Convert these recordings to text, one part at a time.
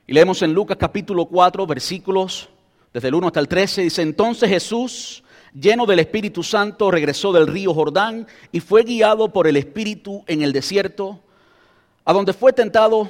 Y leemos en Lucas capítulo 4, versículos desde el 1 hasta el 13. Dice: entonces Jesús, lleno del Espíritu Santo, regresó del río Jordán y fue guiado por el Espíritu en el desierto, donde fue tentado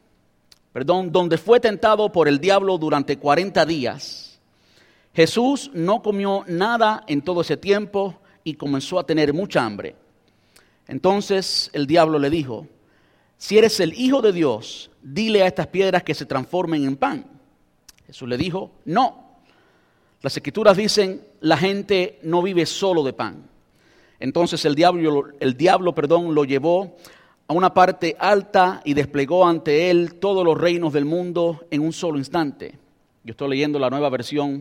por el diablo durante 40 días. Jesús no comió nada en todo ese tiempo y comenzó a tener mucha hambre. Entonces el diablo le dijo: si eres el Hijo de Dios, dile a estas piedras que se transformen en pan. Jesús le dijo: no. Las Escrituras dicen: la gente no vive solo de pan. Entonces el diablo lo llevó a una parte alta y desplegó ante él todos los reinos del mundo en un solo instante. Yo estoy leyendo la nueva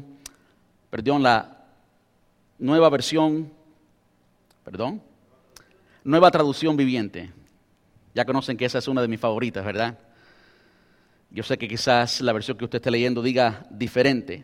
traducción viviente. Ya conocen que esa es una de mis favoritas, ¿verdad? Yo sé que quizás la versión que usted esté leyendo diga diferente.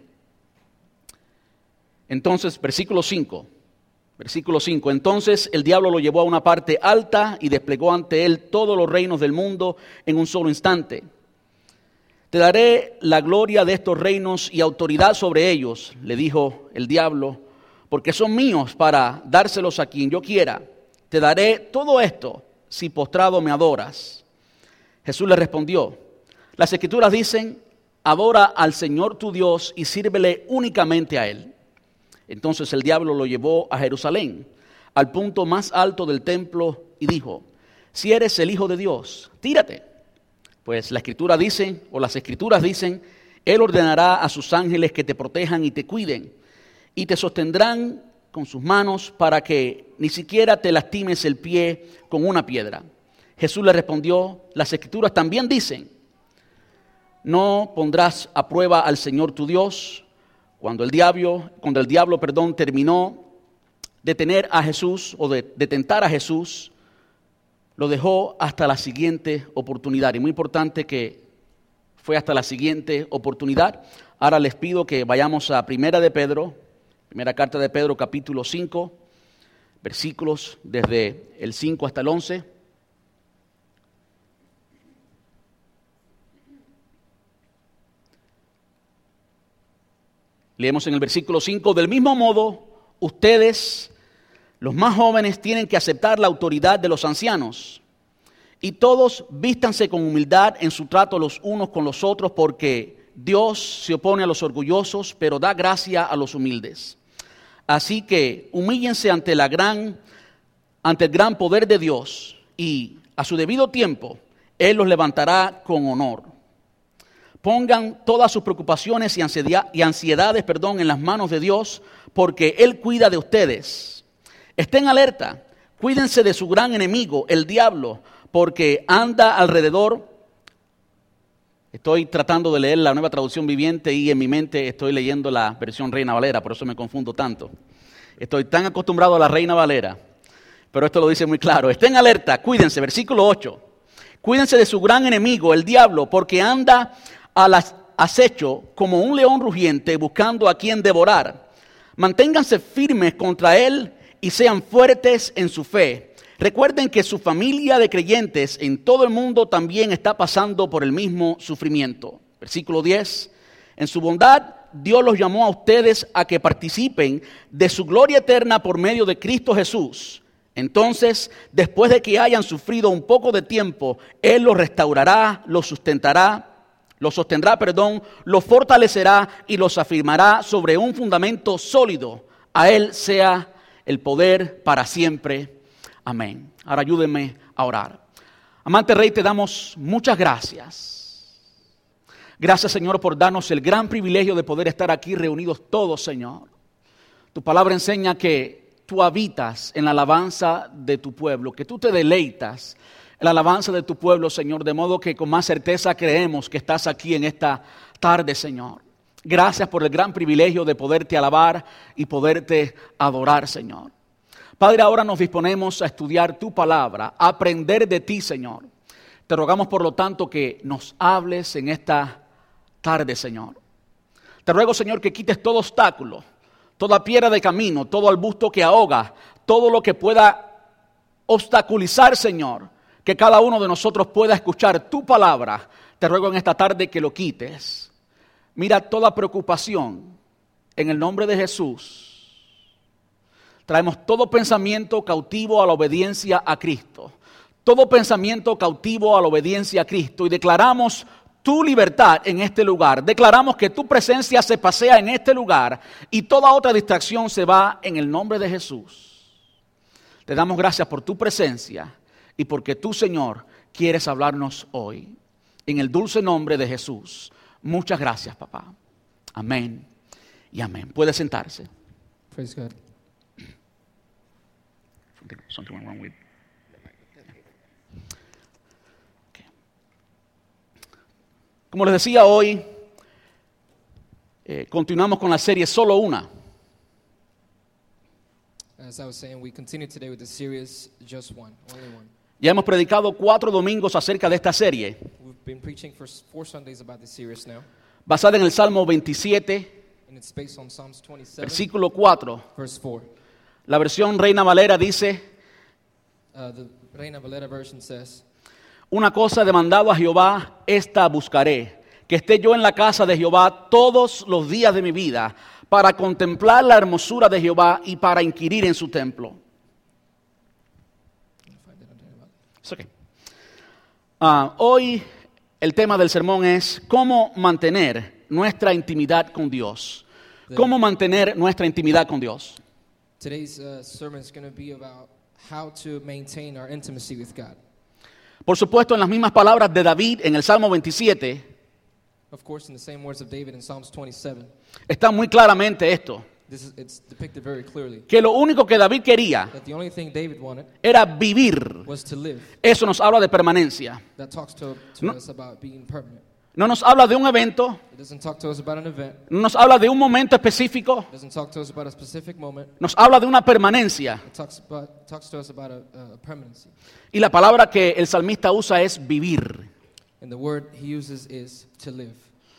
Entonces, versículo 5. Entonces el diablo lo llevó a una parte alta y desplegó ante él todos los reinos del mundo en un solo instante. Te daré la gloria de estos reinos y autoridad sobre ellos, le dijo el diablo, porque son míos para dárselos a quien yo quiera. Te daré todo esto si postrado me adoras. Jesús le respondió: las Escrituras dicen: adora al Señor tu Dios y sírvele únicamente a Él. Entonces el diablo lo llevó a Jerusalén, al punto más alto del templo, y dijo: si eres el Hijo de Dios, tírate. Pues las Escrituras dicen, Él ordenará a sus ángeles que te protejan y te cuiden, y te sostendrán con sus manos para que ni siquiera te lastimes el pie con una piedra. Jesús le respondió: las Escrituras también dicen: no pondrás a prueba al Señor tu Dios. Cuando el diablo terminó de tener a Jesús o de tentar a Jesús, lo dejó hasta la siguiente oportunidad. Y muy importante que fue hasta la siguiente oportunidad. Ahora les pido que vayamos a primera carta de Pedro, capítulo 5, versículos desde el 5 hasta el 11. Leemos en el versículo 5: del mismo modo, ustedes, los más jóvenes, tienen que aceptar la autoridad de los ancianos. Y todos vístanse con humildad en su trato los unos con los otros, porque Dios se opone a los orgullosos, pero da gracia a los humildes. Así que humíllense ante el gran poder de Dios, y a su debido tiempo Él los levantará con honor. Pongan todas sus preocupaciones y ansiedades en las manos de Dios, porque Él cuida de ustedes. Estén alerta, cuídense de su gran enemigo, el diablo, porque anda alrededor. Estoy tratando de leer la nueva traducción viviente y en mi mente estoy leyendo la versión Reina Valera, por eso me confundo tanto. Estoy tan acostumbrado a la Reina Valera, pero esto lo dice muy claro. Estén alerta, cuídense, versículo 8. Cuídense de su gran enemigo, el diablo, porque anda al acecho como un león rugiente buscando a quien devorar. Manténganse firmes contra él y sean fuertes en su fe. Recuerden que su familia de creyentes en todo el mundo también está pasando por el mismo sufrimiento. Versículo 10. En su bondad, Dios los llamó a ustedes a que participen de su gloria eterna por medio de Cristo Jesús. Entonces, después de que hayan sufrido un poco de tiempo, Él los restaurará, los sostendrá, los fortalecerá y los afirmará sobre un fundamento sólido. A Él sea el poder para siempre. Amén. Ahora ayúdenme a orar. Amante Rey, te damos muchas gracias. Gracias, Señor, por darnos el gran privilegio de poder estar aquí reunidos todos, Señor. Tu palabra enseña que tú habitas en la alabanza de tu pueblo, que tú te deleitas en la alabanza de tu pueblo, Señor, de modo que con más certeza creemos que estás aquí en esta tarde, Señor. Gracias por el gran privilegio de poderte alabar y poderte adorar, Señor. Padre, ahora nos disponemos a estudiar tu palabra, a aprender de ti, Señor. Te rogamos, por lo tanto, que nos hables en esta tarde, Señor. Te ruego, Señor, que quites todo obstáculo, toda piedra de camino, todo arbusto que ahoga, todo lo que pueda obstaculizar, Señor, que cada uno de nosotros pueda escuchar tu palabra, te ruego en esta tarde que lo quites. Mira toda preocupación en el nombre de Jesús. Traemos todo pensamiento cautivo a la obediencia a Cristo. Todo pensamiento cautivo a la obediencia a Cristo y declaramos tu libertad en este lugar. Declaramos que tu presencia se pasea en este lugar y toda otra distracción se va en el nombre de Jesús. Te damos gracias por tu presencia y porque tú, Señor, quieres hablarnos hoy. En el dulce nombre de Jesús. Muchas gracias, papá. Amén y amén. Puede sentarse. Praise God. Something went wrong with. Como les decía hoy, continuamos con la serie Solo Una. As I was saying, we continue today with the series Just One, Only One. Ya hemos predicado 4 domingos acerca de esta serie, We've been preaching for 4 Sundays about this series now, basada en el Salmo 27, and it's based on Psalms 27, versículo 4. verse 4. La versión Reina Valera dice: The Reina Valera version says, una cosa he demandado a Jehová, esta buscaré, que esté yo en la casa de Jehová todos los días de mi vida, para contemplar la hermosura de Jehová y para inquirir en su templo. It's okay. Hoy el tema del sermón es cómo mantener nuestra intimidad con Dios. ¿Cómo mantener nuestra intimidad con Dios? Today's sermon is going to be about how to maintain our intimacy with God. Por supuesto, en las mismas palabras de David en el Salmo 27, Of course, in the same words of David in Psalms 27, está muy claramente esto, it's depicted very clearly que lo único que David quería that the only thing David wanted era vivir. was to live. Eso nos habla de permanencia. That talks to No. us about being permanent. No nos habla de un evento, It doesn't talk to us about an event. no nos habla de un momento específico, It doesn't talk to us about a specific moment. nos habla de una permanencia. It talks to us about a permanency. Y la palabra que el salmista usa es vivir. And the word he uses is to live.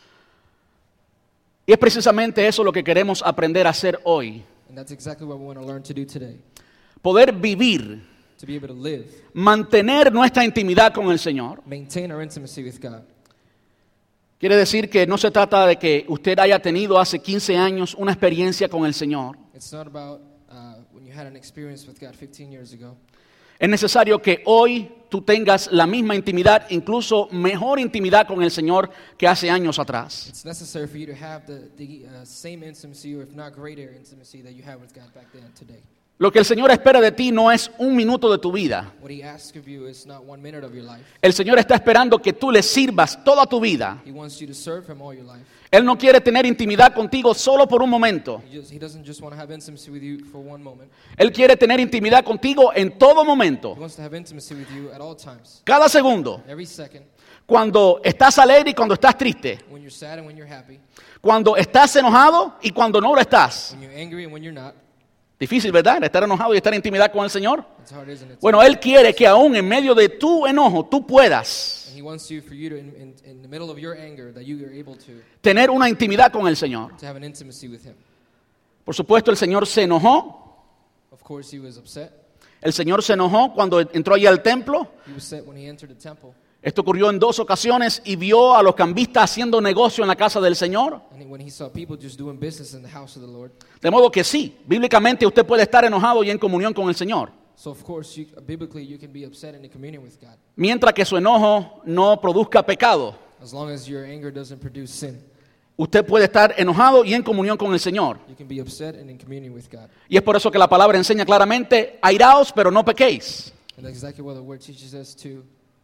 Y es precisamente eso lo que queremos aprender a hacer hoy. And that's exactly what we want to learn to do today. Poder vivir, To be able to live, mantener nuestra intimidad con el Señor. maintain our intimacy with God. Quiere decir que no se trata de que usted haya tenido hace 15 años una experiencia con el Señor. It's not about when you had an experience with God 15 years ago. Es necesario que hoy tú tengas la misma intimidad, incluso mejor intimidad con el Señor que hace años atrás. It's necessary for you to have the same intimacy, or if not greater intimacy, that you had with God back then today. Lo que el Señor espera de ti no es un minuto de tu vida. What he asks of you is not 1 minute of your life. El Señor está esperando que tú le sirvas toda tu vida. He wants you to serve him all your life. Él no quiere tener intimidad contigo solo por un momento. He doesn't just want to have intimacy with you for 1 moment. Él quiere tener intimidad contigo en todo He momento, wants to have intimacy with you at all times. cada segundo. Every second, Cuando estás alegre y cuando estás triste. when you're sad and when you're happy, Cuando estás enojado y cuando no lo estás. when you're angry and when you're not. Difícil, ¿verdad? Estar enojado y estar en intimidad con el Señor. It's hard, isn't it? Bueno, Él quiere que aún en medio de tu enojo tú puedas And he wants you, for you to, in the middle of your anger, that you are able to tener una intimidad con el Señor. have an intimacy with him. Por supuesto, el Señor se enojó. Of course, he was upset. El Señor se enojó cuando entró allí al templo. He was upset when he entered the temple. Esto ocurrió en 2 ocasiones y vio a los cambistas haciendo negocio en la casa del Señor. And when he saw people just doing business in the house of the Lord. De modo que sí, bíblicamente usted puede estar enojado y en comunión con el Señor, So, of course, biblically, you can be upset and in communion with God, mientras que su enojo no produzca pecado. as long as your anger doesn't produce sin. Usted puede estar enojado y en comunión con el Señor. You can be upset and in communion with God. Y es por eso que la palabra enseña claramente, airaos, pero no pequéis. And that's exactly what the word teaches us to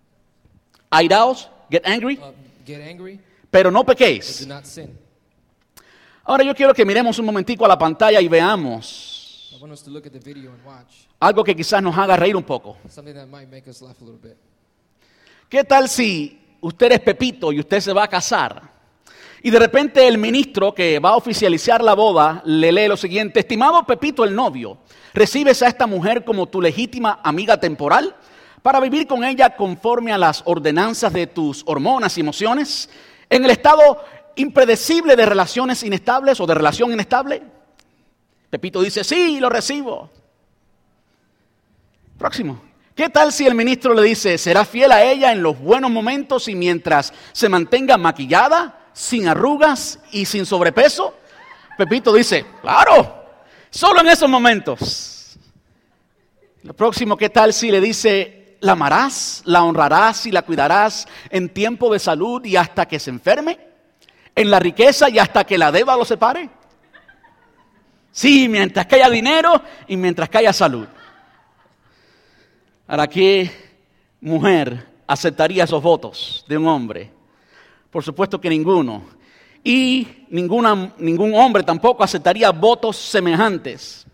Airaos, get angry, get angry, pero no but do pequéis. not sin. Ahora yo quiero que miremos un momentico a la pantalla y veamos I want us to look at the video and watch algo que quizás nos haga reír un poco. something that might make us laugh a little bit. ¿Qué tal si usted es Pepito y usted se va a casar? Y de repente el ministro que va a oficializar la boda le lee lo siguiente: estimado Pepito el novio, ¿recibes a esta mujer como tu legítima amiga temporal para vivir con ella conforme a las ordenanzas de tus hormonas y emociones en el estado impredecible de relaciones inestables o de relación inestable? Pepito dice, sí, lo recibo. Próximo. ¿Qué tal si el ministro le dice, será fiel a ella en los buenos momentos y mientras se mantenga maquillada, sin arrugas y sin sobrepeso? Pepito dice, claro, solo en esos momentos. Lo próximo, ¿qué tal si le dice, la amarás, la honrarás y la cuidarás en tiempo de salud y hasta que se enferme? ¿En la riqueza y hasta que la deuda lo separe? Sí, mientras que haya dinero y mientras que haya salud. Ahora, ¿qué mujer aceptaría esos votos de un hombre? Por supuesto que ninguno. Y ningún hombre tampoco aceptaría votos semejantes.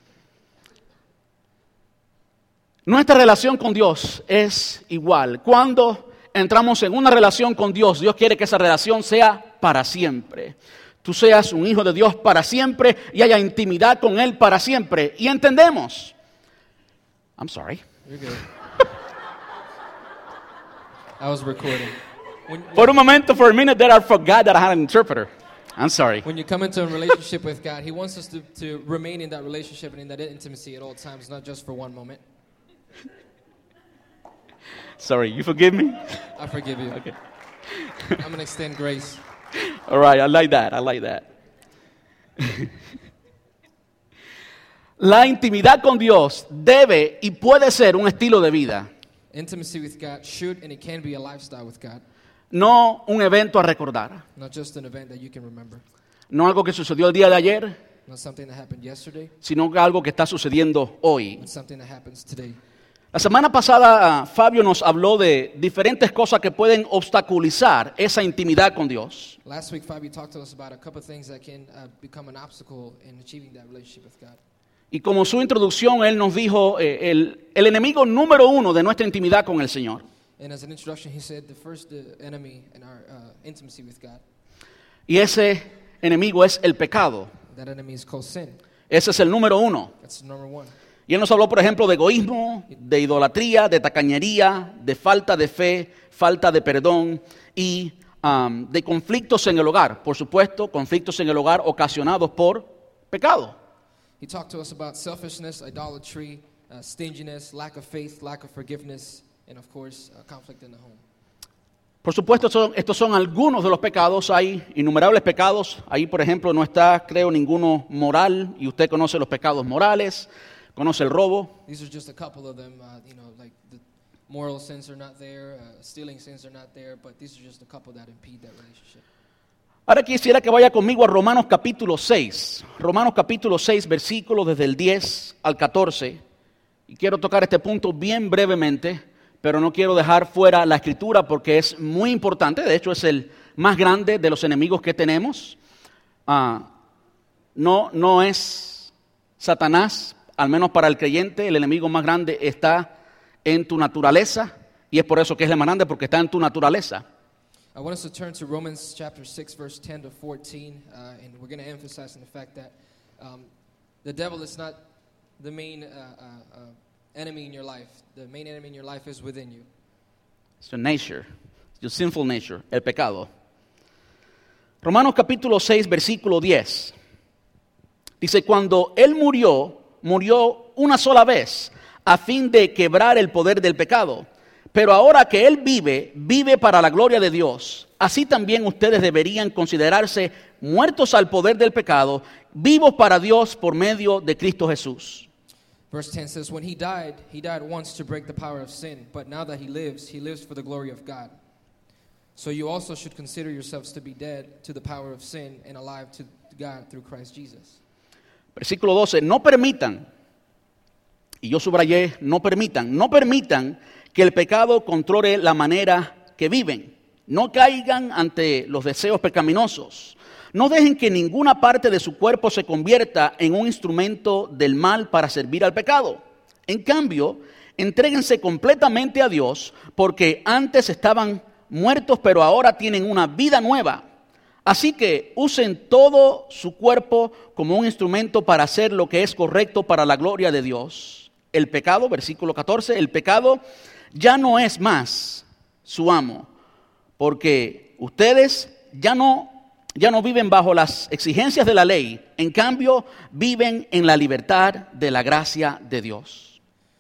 Nuestra relación con Dios es igual. Cuando entramos en una relación con Dios, Dios quiere que esa relación sea para siempre. Tú seas un hijo de Dios para siempre y haya intimidad con Él para siempre. Y entendemos. I'm sorry. You're good. I was recording. For a minute there, I forgot that I had an interpreter. I'm sorry. When you come into a relationship with God, He wants us to remain in that relationship and in that intimacy at all times, not just for one moment. Sorry, you forgive me? I forgive you. Okay. I'm going to extend grace. All right, I like that. La intimidad con Dios debe y puede ser un estilo de vida, Intimacy with God should and it can be a lifestyle with God, no un evento a recordar, not just an event that you can remember, no algo que sucedió el día de ayer, not something that happened yesterday, sino algo que está sucediendo hoy. but something that happens today. La semana pasada Fabio nos habló de diferentes cosas que pueden obstaculizar esa intimidad con Dios. Last week, Fabio talked to us about a couple of things that can become an obstacle in achieving that relationship with God. Y como su introducción, él nos dijo el enemigo número uno de nuestra intimidad con el Señor. And as an introduction, he said the first enemy in our intimacy with God, Y ese enemigo es el pecado. that enemy is called sin. Ese es el número uno. That's number one. Y él nos habló, por ejemplo, de egoísmo, de idolatría, de tacañería, de falta de fe, falta de perdón y de conflictos en el hogar. Por supuesto, conflictos en el hogar ocasionados por pecado. He talked to us about selfishness, idolatry, stinginess, lack of faith, lack of forgiveness, and of course, conflict in the home. Por supuesto, estos son algunos de los pecados. Hay innumerables pecados. Ahí, por ejemplo, no está, creo, ninguno moral. Y usted conoce los pecados morales, conoce el robo. These are just a couple of them, like the moral sins are not there, stealing sins are not there, but these are just a couple that impede that relationship. Ahora quisiera que vaya conmigo a Romanos capítulo 6. Romanos capítulo 6, versículos desde el 10 al 14. Y quiero tocar este punto bien brevemente, pero no quiero dejar fuera la escritura porque es muy importante. De hecho, es el más grande de los enemigos que tenemos. No es Satanás, al menos para el creyente. El enemigo más grande está en tu naturaleza. Y es por eso que es el más grande, porque está en tu naturaleza. I want us to turn to Romans chapter 6, verse 10 to 14, and we're going to emphasize on the fact that the devil is not the main enemy in your life. The main enemy in your life is within you. It's your nature, your sinful nature, el pecado. Romanos capítulo 6, versículo 10. Dice, cuando Él murió una sola vez a fin de quebrar el poder del pecado. Pero ahora que Él vive para la gloria de Dios. Así también ustedes deberían considerarse muertos al poder del pecado, vivos para Dios por medio de Cristo Jesús. Verse 10 says, when he died once to break the power of sin, but now that he lives for the glory of God. So you also should consider yourselves to be dead to the power of sin and alive to God through Christ Jesus. Versículo 12, no permitan, y yo subrayé, no permitan que el pecado controle la manera que viven. No caigan ante los deseos pecaminosos. No dejen que ninguna parte de su cuerpo se convierta en un instrumento del mal para servir al pecado. En cambio, entréguense completamente a Dios, porque antes estaban muertos, pero ahora tienen una vida nueva. Así que usen todo su cuerpo como un instrumento para hacer lo que es correcto para la gloria de Dios. El pecado, versículo 14, el pecado ya no es más su amo, porque ustedes ya no viven bajo las exigencias de la ley, en cambio viven en la libertad de la gracia de Dios.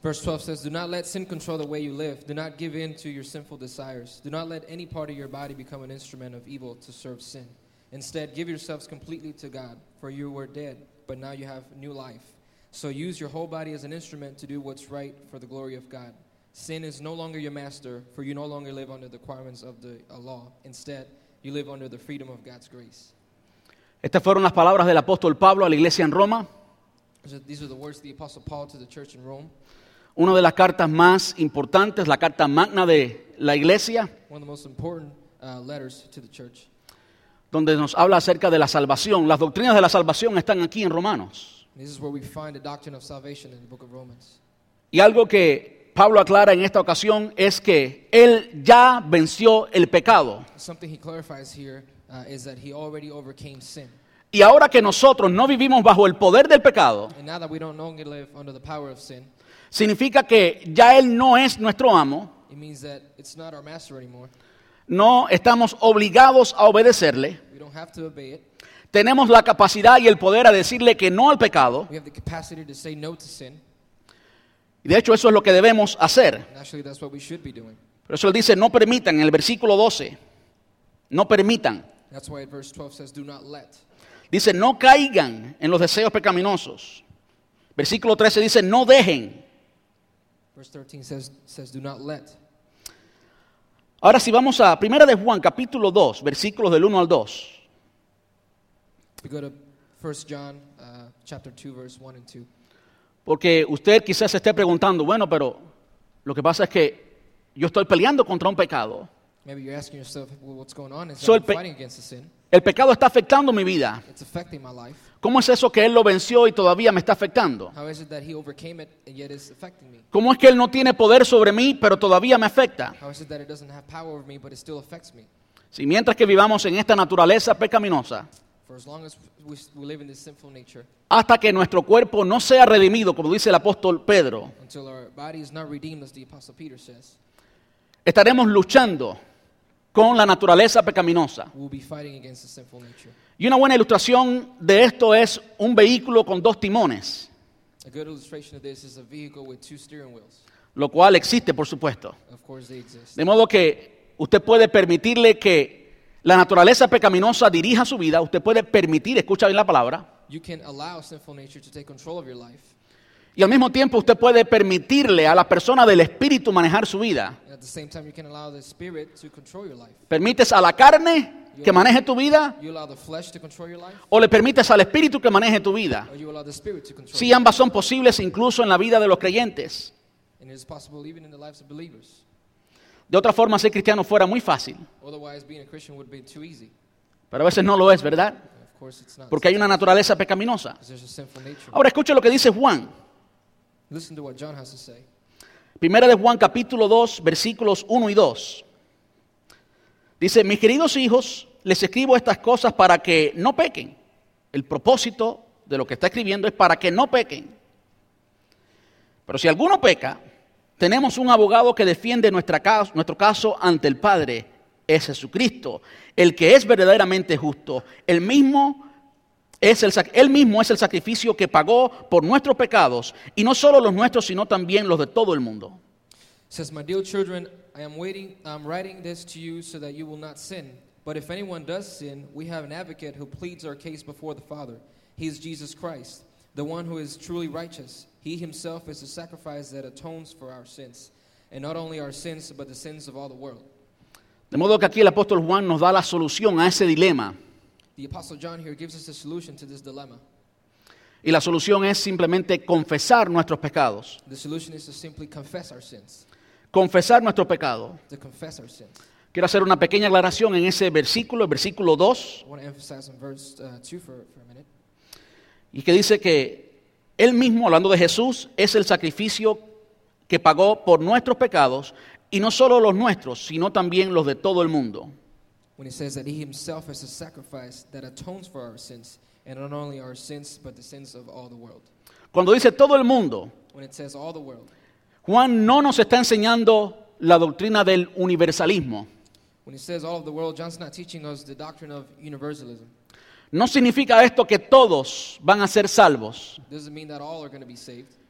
Verse 12 says, "Do not let sin control the way you live. Do not give in to your sinful desires. Do not let any part of your body become an instrument of evil to serve sin. Instead, give yourselves completely to God, for you were dead, but now you have new life. So use your whole body as an instrument to do what's right for the glory of God. Sin is no longer your master, for you no longer live under the requirements of the law. Instead, you live under the freedom of God's grace." Estas fueron las palabras del apóstol Pablo a la iglesia en Roma. So these are the words of the Apostle Paul to the church in Rome. Una de las cartas más importantes, la carta magna de la iglesia, One of the most important letters to the church. donde nos habla acerca de la salvación. Las doctrinas de la salvación están aquí en Romanos. This is where we find the doctrine of salvation in the book of Romans. Y algo que Pablo aclara en esta ocasión es que él ya venció el pecado. Something he clarifies here is that he already overcame sin. Y ahora que nosotros no vivimos bajo el poder del pecado, And now that we don't no longer live under the power of sin, significa que ya él no es nuestro amo, it means that it's not our master anymore. no estamos obligados a obedecerle, We don't have to obey it. tenemos la capacidad y el poder a decirle que no al pecado, We have the capacity to say no to sin. y de hecho eso es lo que debemos hacer. And actually, that's what we should be doing. Por eso él dice, no permitan, en el versículo 12, no permitan. That's why verse 12 says, "Do not let." Dice, no caigan en los deseos pecaminosos. Versículo 13 dice, no dejen. Verse 13 says, "Do not let." Ahora si vamos a 1 de Juan, capítulo 2, versículos del 1 al 2. We go to 1 John chapter 2, verse 1 and 2. Porque usted quizás se esté preguntando, bueno, pero lo que pasa es que yo estoy peleando contra un pecado. Maybe you're asking yourself, well, what's going on? Is So I'm el pe- fighting against the sin. El pecado está afectando mi vida. It's affecting my life. ¿Cómo es eso que él lo venció y todavía me está afectando? How is it that he overcame it and yet it's affecting me? ¿Cómo es que él no tiene poder sobre mí, pero todavía me afecta? How is it that it doesn't have power over me, but it still affects me? Si mientras que vivamos en esta naturaleza pecaminosa, For as long as we live in this sinful nature, hasta que nuestro cuerpo no sea redimido, como dice el apóstol Pedro, until our body is not redeemed, as the Apostle Peter says, estaremos luchando con la naturaleza pecaminosa. we'll be fighting against the sinful nature. Y una buena ilustración de esto es un vehículo con 2 timones, A good illustration of this is a vehicle with 2 steering wheels. lo cual existe, por supuesto. Of course, they exist. De modo que usted puede permitirle que la naturaleza pecaminosa dirija su vida, usted puede permitir, escucha bien la palabra, You can allow sinful nature to take control of your life. y al mismo tiempo usted puede permitirle a la persona del Espíritu manejar su vida. And at the same time, you can allow the Spirit to control your life. ¿Permites a la carne que maneje tu vida You allow the flesh to control your life, o le permites al Espíritu que maneje tu vida? or you allow the Spirit to control Sí, your life. ambas son posibles incluso en la vida de los creyentes. And it is possible even in the lives of believers. De otra forma, ser cristiano fuera muy fácil, Otherwise, being a Christian would be too easy. pero a veces no lo es, ¿verdad? And of course, it's not. Porque hay una naturaleza pecaminosa. Because there's a sinful nature. Ahora escuche lo que dice Juan. Listen to what John has to say. Primera de Juan capítulo 2, versículos 1 y 2. Dice, mis queridos hijos, les escribo estas cosas para que no pequen. El propósito de lo que está escribiendo es para que no pequen. Pero si alguno peca, tenemos un abogado que defiende nuestro caso ante el Padre, es Jesucristo, el que es verdaderamente justo. Él mismo es el sacrificio que pagó por nuestros pecados, y no solo los nuestros, sino también los de todo el mundo. It says, "My dear children, I'm writing this to you so that you will not sin. But if anyone does sin, we have an advocate who pleads our case before the Father. He is Jesus Christ, the one who is truly righteous. He himself is the sacrifice that atones for our sins, and not only our sins, but the sins of all the world." De modo que aquí el apóstol Juan nos da la solución a ese dilema. The Apostle John here gives us a solution to this dilemma. Y la solución es simplemente confesar nuestros pecados. The solution is to simply confess our sins. Confesar nuestro pecado. To confess our sins. Quiero hacer una pequeña aclaración en ese versículo, el versículo 2, I want to emphasize on verse 2 for a minute. y que dice que Él mismo, hablando de Jesús, es el sacrificio que pagó por nuestros pecados, y no solo los nuestros, sino también los de todo el mundo. When he says that he himself is a sacrifice that atones for our sins, and not only our sins, but the sins of all the world. Cuando dice todo el mundo, When it says all the world, Juan no nos está enseñando la doctrina del universalismo. when he says all of the world, John's not teaching us the doctrine of universalism. No significa esto que todos van a ser salvos. It doesn't mean that all are going to be saved.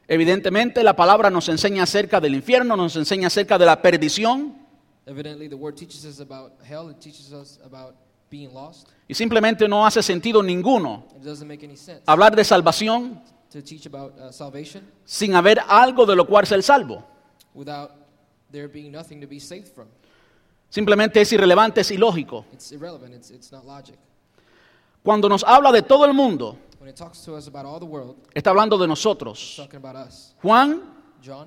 Evidentemente la palabra nos enseña acerca del infierno, nos enseña acerca de la perdición. Evidently, the word teaches us about hell. It teaches us about being lost. Y simplemente no hace sentido ninguno It doesn't make any sense hablar de salvación to teach about salvation sin haber algo de lo cual ser salvo. without there being nothing to be saved from. Simplemente es irrelevante, es ilógico. It's irrelevant. It's not logic. Cuando nos habla de todo el mundo, When it talks to us about all the world, está hablando de it's nosotros. talking about us. Juan, John,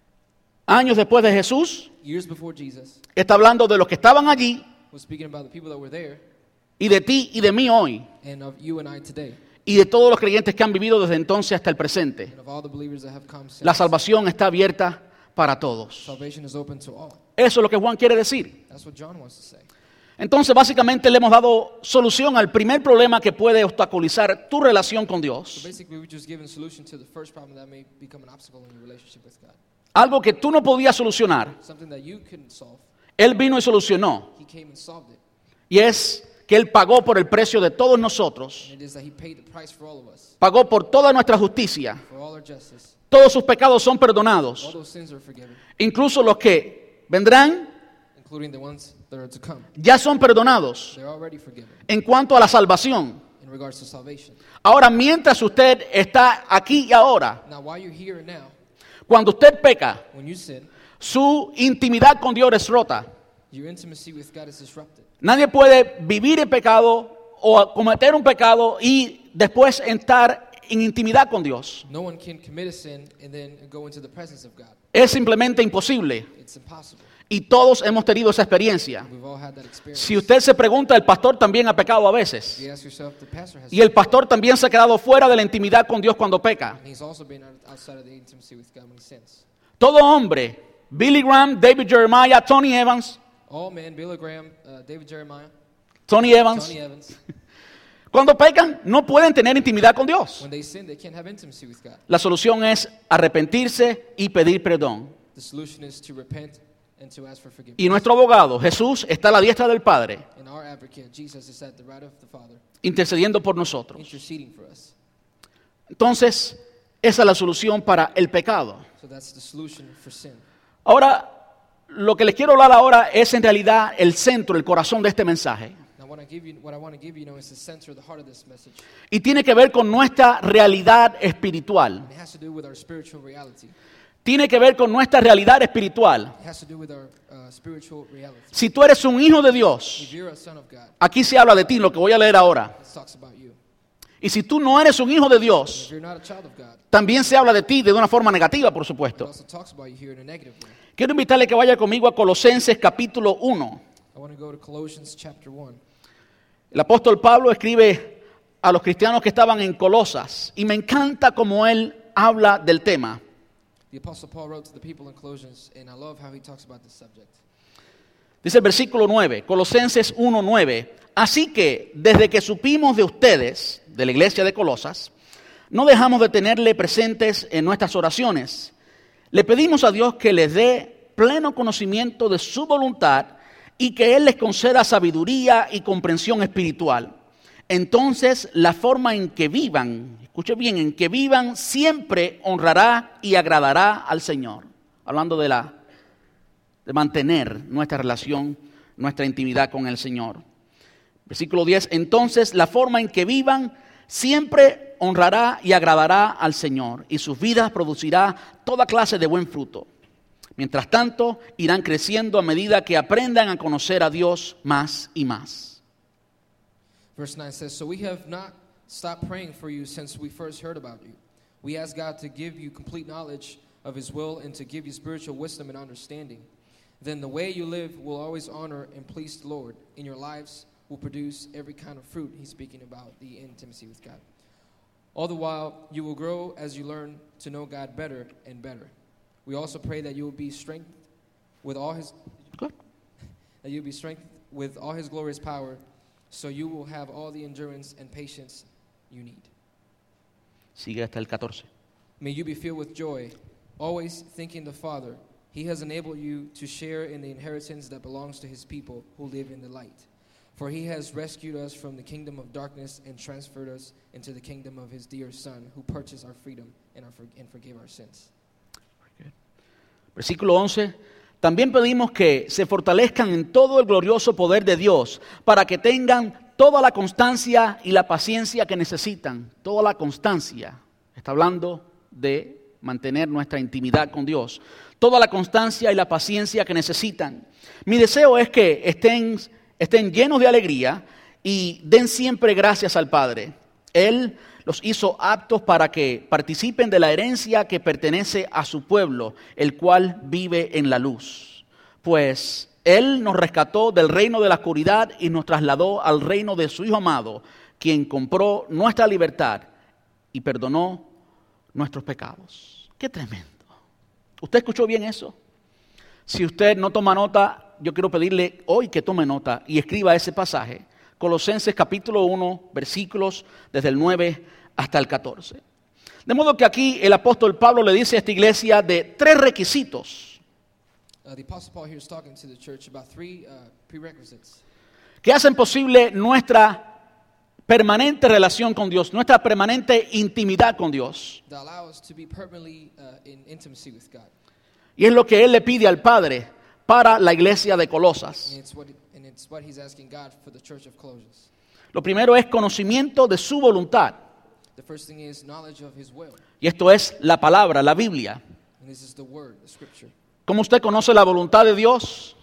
años después de Jesús, years before Jesus, está hablando de los que estaban allí was speaking about the people that were there y de ti y de mí hoy and of you and I today y de todos los creyentes que han vivido desde entonces hasta el presente. and of all the believers that have come since. La salvación está abierta para todos. Salvation is open to all. Eso es lo que Juan quiere decir. That's what John wants to say. Entonces, básicamente le hemos dado solución al primer problema que puede obstaculizar tu relación con So Dios. basically, we've just given solution to the first problem that may become an obstacle in your relationship with God. Algo que tú no podías solucionar, Something that you couldn't solve. Él vino y solucionó. He came and solved it. Y es que Él pagó por el precio de todos nosotros. And it is that He paid the price for all of us, Pagó por toda nuestra justicia. for all our justice. Todos sus pecados son All perdonados. those sins are forgiven, Incluso los que vendrán including the ones that are to come. ya son perdonados. They're already forgiven En cuanto a la salvación. in regards to salvation. Ahora, mientras usted está aquí y ahora, Now, while you're here and now, cuando usted peca, when you sin, su intimidad con Dios es rota. your intimacy with God is disrupted. Nadie puede vivir en pecado o cometer un pecado y después entrar en intimidad con Dios. No one can commit a sin and then go into the presence of God. Es simplemente imposible. It's impossible. Y todos hemos tenido esa experiencia. We've all had that experience. Si usted se pregunta, el pastor también ha pecado a veces. You ask yourself, the pastor has Y el pastor también se ha quedado fuera de la intimidad con Dios cuando peca. and he's also been outside of the intimacy with God when he sins. Todo hombre, Billy Graham, David Jeremiah, Tony Evans, All men, Billy Graham, David Jeremiah, Tony Evans, Tony Evans, cuando pecan no pueden tener intimidad con Dios. when they sin, they can't have intimacy with God. La solución es arrepentirse y pedir perdón. The solution is to repent and to ask for forgiveness. Y nuestro abogado, Jesús, está a la diestra del Padre, And our advocate, Jesus, is at the right of the Father, intercediendo por nosotros. interceding for us. Entonces, esa es la solución para el pecado. So that's the solution for sin. Ahora, lo que les quiero hablar ahora es en realidad el centro, el corazón de este mensaje. Now, what I want to give you, is the center, the heart of this message. Y tiene que ver con nuestra realidad espiritual. And it has to do with our spiritual reality. Tiene que ver con nuestra realidad espiritual. It has to do with our spiritual reality. Si tú eres un hijo de Dios, If you're a son of God, aquí se habla de ti, lo que voy a leer ahora. it talks about you. Y si tú no eres un hijo de If Dios, you're not a child of God, también se habla de ti de una forma negativa, por it supuesto. also talks about you here in a negative way. Quiero invitarle que vaya conmigo a Colosenses capítulo 1. I want to go to Colossians chapter 1. El apóstol Pablo escribe a los cristianos que estaban en Colosas y me encanta cómo él habla del tema. The Apostle Paul wrote to the people in Colossians, and I love how he talks about this subject. Dice el versículo 9, Colosenses 1:9. Así que desde que supimos de ustedes, de la iglesia de Colosas, no dejamos de tenerle presentes en nuestras oraciones. Le pedimos a Dios que les dé pleno conocimiento de su voluntad y que Él les conceda sabiduría y comprensión espiritual. Entonces la forma en que vivan, escuche bien, en que vivan siempre honrará y agradará al Señor. Hablando de mantener nuestra relación, nuestra intimidad con el Señor. Versículo 10, entonces la forma en que vivan siempre honrará y agradará al Señor y sus vidas producirá toda clase de buen fruto. Mientras tanto, irán creciendo a medida que aprendan a conocer a Dios más y más. Verse 9 says, So we have not stopped praying for you since we first heard about you. We ask God to give you complete knowledge of His will and to give you spiritual wisdom and understanding. Then the way you live will always honor and please the Lord. In your lives will produce every kind of fruit. He's speaking about the intimacy with God. All the while, you will grow as you learn to know God better and better. We also pray that you will be strengthened with all His glorious power, so you will have all the endurance and patience you need. Sigue hasta el 14. May you be filled with joy, always thanking the Father. He has enabled you to share in the inheritance that belongs to His people who live in the light. For he has rescued us from the kingdom of darkness and transferred us into the kingdom of his dear Son, who purchased our freedom and forgave our sins. Versículo 11. También pedimos que se fortalezcan en todo el glorioso poder de Dios, para que tengan toda la constancia y la paciencia que necesitan. Toda la constancia. Está hablando de mantener nuestra intimidad con Dios. Toda la constancia y la paciencia que necesitan. Mi deseo es que estén llenos de alegría y den siempre gracias al Padre. Él los hizo aptos para que participen de la herencia que pertenece a su pueblo, el cual vive en la luz. Pues Él nos rescató del reino de la oscuridad y nos trasladó al reino de su Hijo amado, quien compró nuestra libertad y perdonó nuestros pecados. ¡Qué tremendo! ¿Usted escuchó bien eso? Si usted no toma nota, yo quiero pedirle hoy que tome nota y escriba ese pasaje. Colosenses capítulo 1, versículos desde el 9 hasta el 14. De modo que aquí el apóstol Pablo le dice a esta iglesia de 3 requisitos. The Apostle Paul here is talking to the church about 3 prerequisites Que hacen posible nuestra permanente relación con Dios, nuestra permanente intimidad con Dios. that allow us to be permanently in intimacy with God. Y es lo que él le pide al Padre para la iglesia de Colosas. And it's what he's asking God for the church of Colossus. Lo primero es conocimiento de su voluntad. The first thing is knowledge of his will. Y esto es la palabra, la Biblia. And this is the word, the scripture. ¿Cómo usted conoce la voluntad de Dios?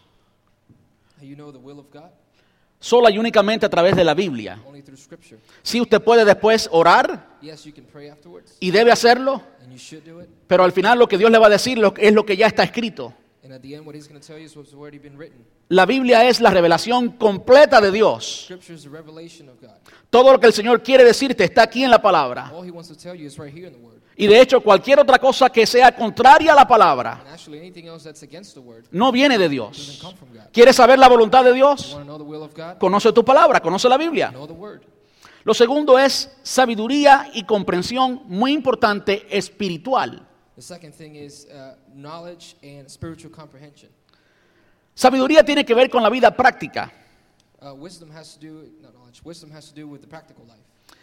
How you know the will of God? Sola y únicamente a través de la Biblia. Only through scripture. Sí, usted puede después orar Yes, you can pray afterwards, y debe hacerlo, and you should do it. pero al final lo que Dios le va a decir es lo que ya está escrito. And at the end, what he's going to tell you is what's already been written. La Biblia es la revelación completa de Dios. Scripture is the revelation of God. Todo lo que el Señor quiere decirte está aquí en la palabra. All he wants to tell you is right here in the word. Y de hecho, cualquier otra cosa que sea contraria a la palabra And actually, anything else that's against the word no viene de doesn't Dios. come from God. ¿Quieres saber la voluntad de You Dios? want to know the will of God? Conoce tu palabra, conoce la Biblia. Know the word. Lo segundo es sabiduría y comprensión, muy importante, espiritual. The second thing is knowledge and spiritual comprehension. Sabiduría tiene que ver con la vida práctica. Wisdom has to do, not knowledge, wisdom has to do with the practical life.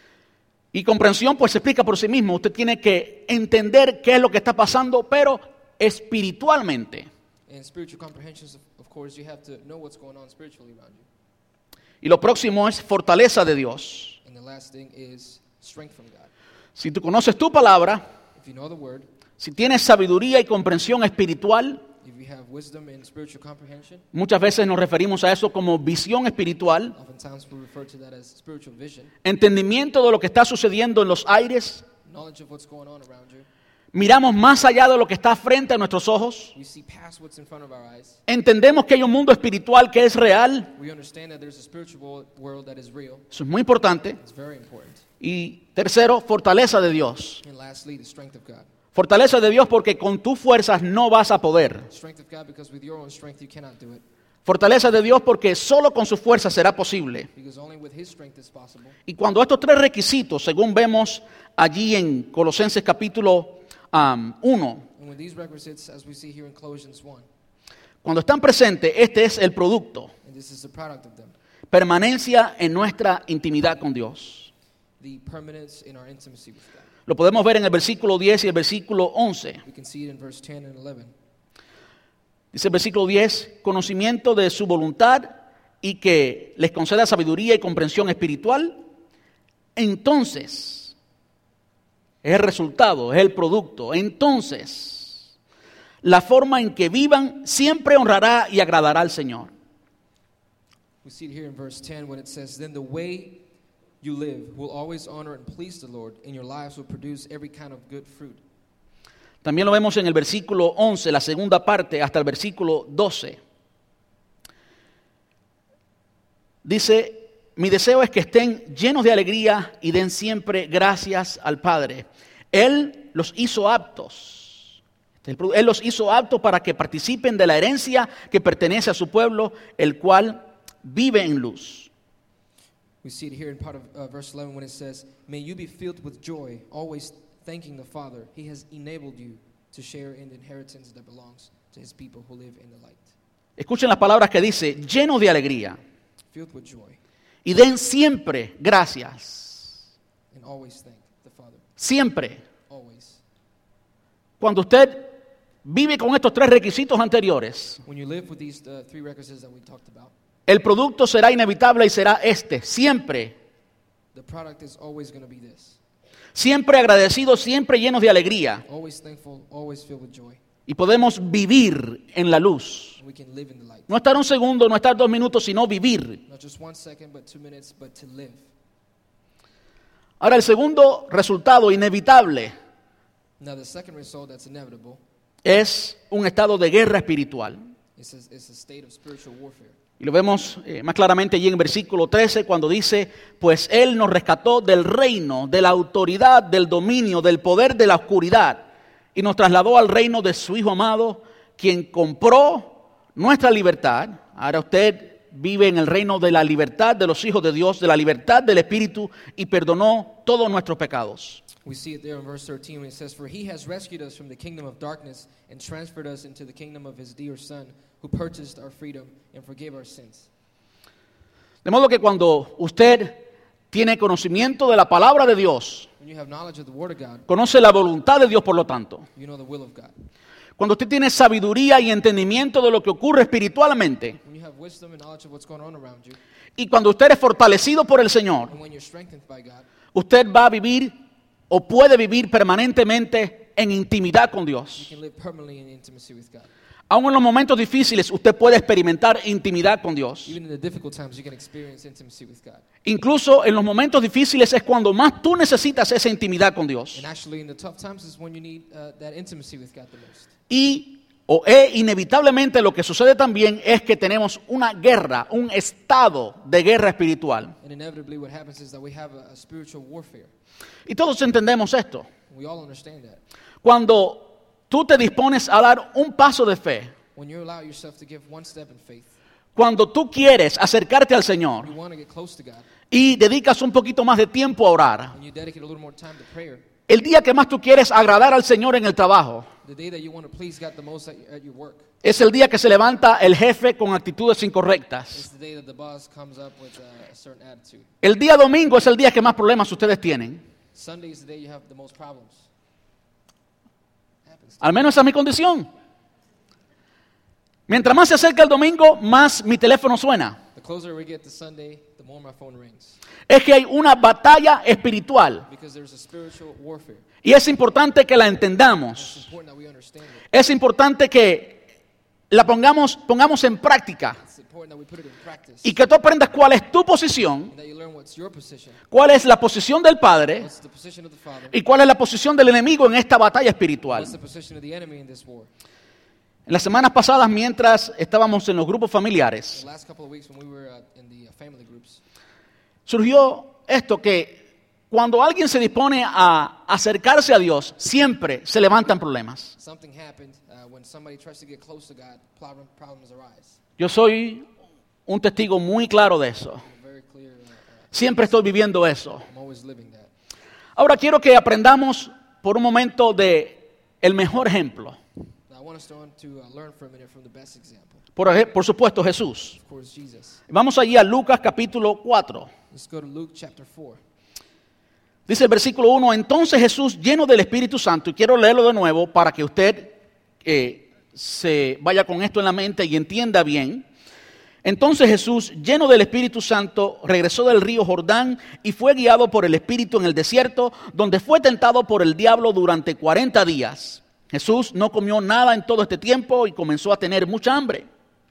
Y comprensión pues se explica por sí mismo. Usted tiene que entender qué es lo que está pasando, pero espiritualmente. And spiritual comprehension, of course, you have to know what's going on spiritually around you. Y lo próximo es fortaleza de Dios. And the last thing is strength from God. Si tú conoces tu palabra, If you know the word, si tienes sabiduría y comprensión espiritual, if you have wisdom and spiritual comprehension, muchas veces nos referimos a eso como visión espiritual, oftentimes we refer to that as spiritual vision, entendimiento de lo que está sucediendo en los aires, knowledge of what's going on around you. miramos más allá de lo que está frente a nuestros ojos, We see past what's in front of our eyes. entendemos que hay un mundo espiritual que es real, We understand that there's a spiritual world that is real. eso es muy importante. It's very important. Y tercero, fortaleza de Dios. And lastly, the strength of God. Fortaleza de Dios porque con tus fuerzas no vas a poder. Strength of God because with your own strength you cannot do it. Fortaleza de Dios porque solo con sus fuerzas será posible. Because only with his strength is possible. Y cuando estos 3 requisitos, según vemos allí en Colosenses capítulo 1, And with these requisites, as we see here in Colossians 1, cuando están presentes, este es el producto. and this is the product of them, Permanencia en nuestra intimidad con Dios. the permanence in our intimacy with God. Lo podemos ver en el versículo 10 y el versículo 11. We can see it in verse 10 and 11. Dice el versículo 10, conocimiento de su voluntad y que les conceda sabiduría y comprensión espiritual. Entonces, es el resultado, es el producto. Entonces, la forma en que vivan siempre honrará y agradará al Señor. We see it here in verse 10 when it says, "Then the way you live will always honor and please the Lord, and your lives will produce every kind of good fruit." También lo vemos en el versículo 11, la segunda parte, hasta el versículo 12. Dice, mi deseo es que estén llenos de alegría y den siempre gracias al Padre. Él los hizo aptos. Él los hizo aptos para que participen de la herencia que pertenece a su pueblo, el cual vive en luz. We see it here in part of verse 11 when it says, "May you be filled with joy, always thanking the Father. He has enabled you to share in the inheritance that belongs to his people who live in the light." Escuchen las palabras que dice, llenos de alegría. filled with joy, Y den siempre gracias. and always thank the Father. Siempre. Always. Cuando usted vive con estos tres requisitos anteriores, When you live with these three requisites that we talked about, el producto será inevitable y será siempre. the product is always going to be this. Siempre agradecidos, siempre llenos de alegría. Always thankful, always filled with joy. Y podemos vivir en la luz. We can live in the light. No estar un segundo, no estar 2 minutos, sino vivir. Not just 1 second, but 2 minutes, but to live. Ahora, el segundo resultado inevitable Now, the second result that's inevitable es un estado de guerra espiritual. is a state of spiritual warfare. Y lo vemos más claramente allí en versículo 13 cuando dice, pues Él nos rescató del reino, de la autoridad, del dominio, del poder de la oscuridad y nos trasladó al reino de su Hijo amado, quien compró nuestra libertad. Ahora usted vive en el reino de la libertad de los hijos de Dios, de la libertad del Espíritu y perdonó todos nuestros pecados. We see it there in verse 13 when it says, for he has rescued us from the kingdom of darkness and transferred us into the kingdom of his dear Son, who purchased our freedom and forgave our sins. De modo que cuando usted tiene conocimiento de la palabra de Dios, When you have knowledge of the Word of God, conoce la voluntad de Dios por lo tanto, you know the will of God. cuando usted tiene sabiduría y entendimiento de lo que ocurre espiritualmente, When you have wisdom and knowledge of what's going on around you, y cuando usted es fortalecido por el Señor, and when you're strengthened by God, usted va a vivir o puede vivir permanentemente en intimidad con you Dios. can live permanently in intimacy with God. Aún en los momentos difíciles usted puede experimentar intimidad con Dios. Even in the difficult times, you can experience intimacy with God. Incluso en los momentos difíciles es cuando más tú necesitas esa intimidad con Dios. And actually, in the tough times is when you need that intimacy with God the most. Inevitablemente lo que sucede también es que tenemos una guerra, un estado de guerra espiritual. And inevitably, what happens is that we have a spiritual warfare. Y todos entendemos esto. We all understand that. Cuando tú te dispones a dar un paso de fe, When you allow yourself to give one step in faith, cuando tú quieres acercarte al Señor you want to get close to God, y dedicas un poquito más de tiempo a orar, and you dedicate a little more time to prayer, el día que más tú quieres agradar al Señor en el trabajo, the day that you want to please God the most at your work, es el día que se levanta el jefe con actitudes incorrectas. is the day that the boss comes up with a certain attitude. El día domingo es el día que más problemas ustedes tienen. Sunday is the day you have the most problems. Happens. Al menos esa es mi condición. Mientras más se acerca el domingo, más mi teléfono suena. The closer we get to Sunday, the more my phone rings. Es que hay una batalla espiritual Because there's a spiritual warfare. y es importante que la It's entendamos. important that we understand it. Es importante que la pongamos en práctica It's important that we put it in practice. y que tú aprendas cuál es tu posición, And that you learn what's your position, cuál es la posición del Padre what's the position of the Father, y cuál es la posición del enemigo en esta batalla espiritual. what's the position of the enemy in this war. En las semanas pasadas, mientras estábamos en los grupos familiares, The last couple of weeks when we were in the family groups, surgió esto que cuando alguien se dispone a acercarse a Dios, siempre se levantan problemas. something happened when somebody tries to get close to God, problems arise. Yo soy un testigo muy claro de eso. Very clear. Siempre estoy viviendo eso. I'm always living that. Ahora quiero que aprendamos por un momento de el mejor ejemplo. Now I want us to learn for a minute from the best example. Por supuesto, Jesús. Of course, Jesus. Vamos allí a Lucas capítulo 4. Let's go to Luke chapter 4. Dice el versículo 1, entonces Jesús lleno del Espíritu Santo, y quiero leerlo de nuevo para que usted se vaya con esto en la mente y entienda bien. Entonces Jesús, lleno del Espíritu Santo, regresó del río Jordán y fue guiado por el Espíritu en el desierto, donde fue tentado por el diablo durante 40 días. Jesús no comió nada en todo este tiempo y comenzó a tener mucha hambre.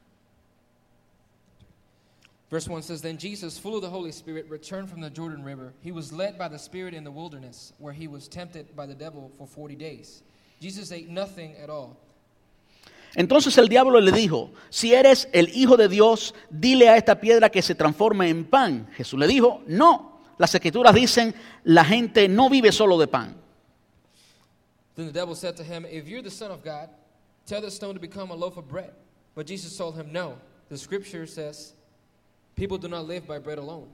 Verse 1 says, then Jesus, full of the Holy Spirit, returned from the Jordan River. He was led by the Spirit in the wilderness, where he was tempted by the devil for 40 days. Jesus ate nothing at all. Entonces el diablo le dijo, si eres el Hijo de Dios, dile a esta piedra que se transforme en pan. Jesús le dijo, no, las Escrituras dicen, la gente no vive solo de pan. Then the devil said to him, if you're the Son of God, tell this stone to become a loaf of bread. But Jesus told him, no, the Scripture says, people do not live by bread alone.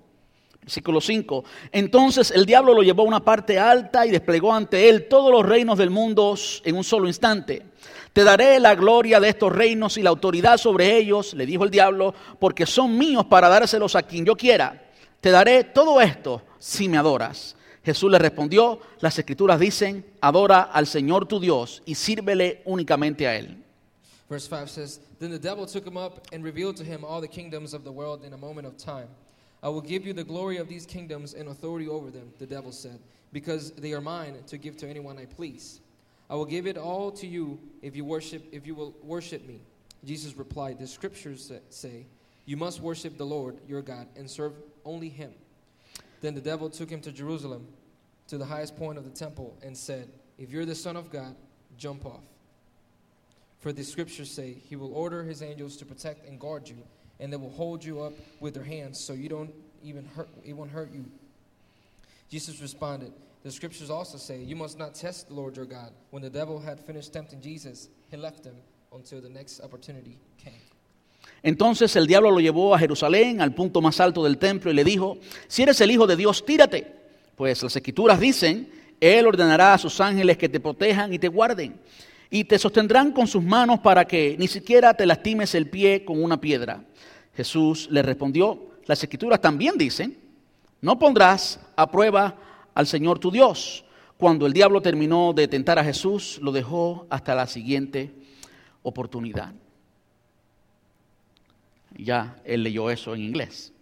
Versículo 5. Entonces el diablo lo llevó a una parte alta y desplegó ante él todos los reinos del mundo en un solo instante. Te daré la gloria de estos reinos y la autoridad sobre ellos, le dijo el diablo, porque son míos para dárselos a quien yo quiera. Te daré todo esto si me adoras. Jesús le respondió, las Escrituras dicen, adora al Señor tu Dios y sírvele únicamente a Él. Verse 5 says, Then the devil took him up and revealed to him all the kingdoms of the world in a moment of time. I will give you the glory of these kingdoms and authority over them, the devil said, because they are mine to give to anyone I please. I will give it all to you if you will worship me. Jesus replied, the scriptures say, you must worship the Lord your God and serve only him. Then the devil took him to Jerusalem, to the highest point of the temple, and said, if you're the Son of God, jump off. For the scriptures say, he will order his angels to protect and guard you, and they will hold you up with their hands so it won't hurt you. Jesus responded, the scriptures also say, you must not test the Lord your God. When the devil had finished tempting Jesus, he left him until the next opportunity came. Entonces el diablo lo llevó a Jerusalén, al punto más alto del templo, y le dijo, si eres el Hijo de Dios, tírate. Pues las Escrituras dicen, Él ordenará a sus ángeles que te protejan y te guarden, y te sostendrán con sus manos para que ni siquiera te lastimes el pie con una piedra. Jesús le respondió, las Escrituras también dicen, no pondrás a prueba al Señor tu Dios. Cuando el diablo terminó de tentar a Jesús, lo dejó hasta la siguiente oportunidad. Ya él leyó eso en inglés.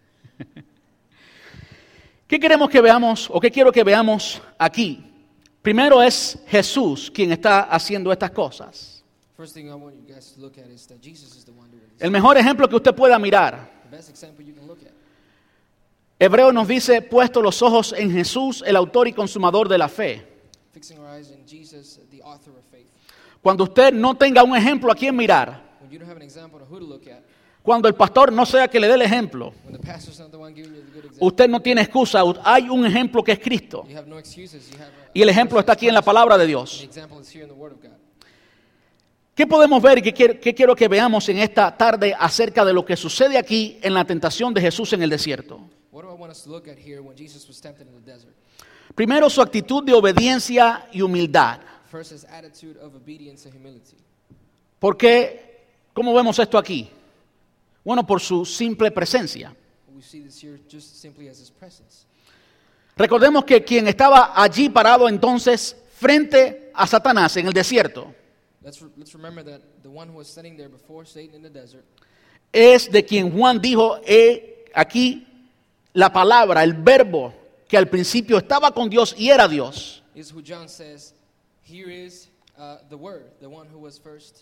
¿Qué queremos que veamos o qué quiero que veamos aquí? Primero es Jesús quien está haciendo estas cosas. First thing I want you guys to look at is that Jesus is the one doing this. El mejor ejemplo que usted pueda mirar. The best example you can look at. Hebreo nos dice, puesto los ojos en Jesús, el autor y consumador de la fe. Fixing our eyes in Jesus, the author of faith. Cuando usted no tenga un ejemplo a quien mirar, When you don't have an example of who to look at, cuando el pastor no sea que le dé el ejemplo, when the pastor's not the one giving you the good example, usted no tiene excusa, hay un ejemplo que es Cristo. you have no excuses. You have Y el ejemplo está aquí en la palabra de the Dios. example is here in the Word of God. ¿Qué podemos ver y qué quiero que veamos en esta tarde acerca de lo que sucede aquí en la tentación de Jesús en el desierto? What do I want us to look at here when Jesus was tempted in the desert? Primero, su actitud de obediencia y humildad. First, his attitude of obedience and humility. ¿Por qué? ¿Cómo vemos esto aquí? Bueno, por su simple presencia. We see this here just simply as his presence. Recordemos que quien estaba allí parado entonces frente a Satanás en el desierto Let's remember that the one who was standing there before Satan in the desert es de quien Juan dijo, aquí la palabra, el verbo que al principio estaba con Dios y era Dios. is who John says, here is the Word, the one who was first.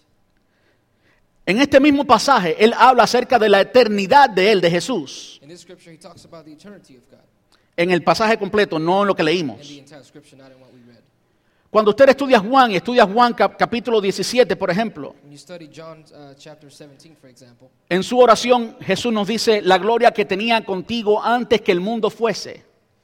En este mismo pasaje, él habla acerca de la eternidad de él, de Jesús. In this scripture, he talks about the eternity of God. En el pasaje completo, no en lo que In the leímos. entire scripture, not in what we read. Cuando usted estudia Juan capítulo 17, por ejemplo, When you study John chapter 17, for example, en su oración Jesús nos dice, la gloria que tenía contigo antes que el mundo fuese.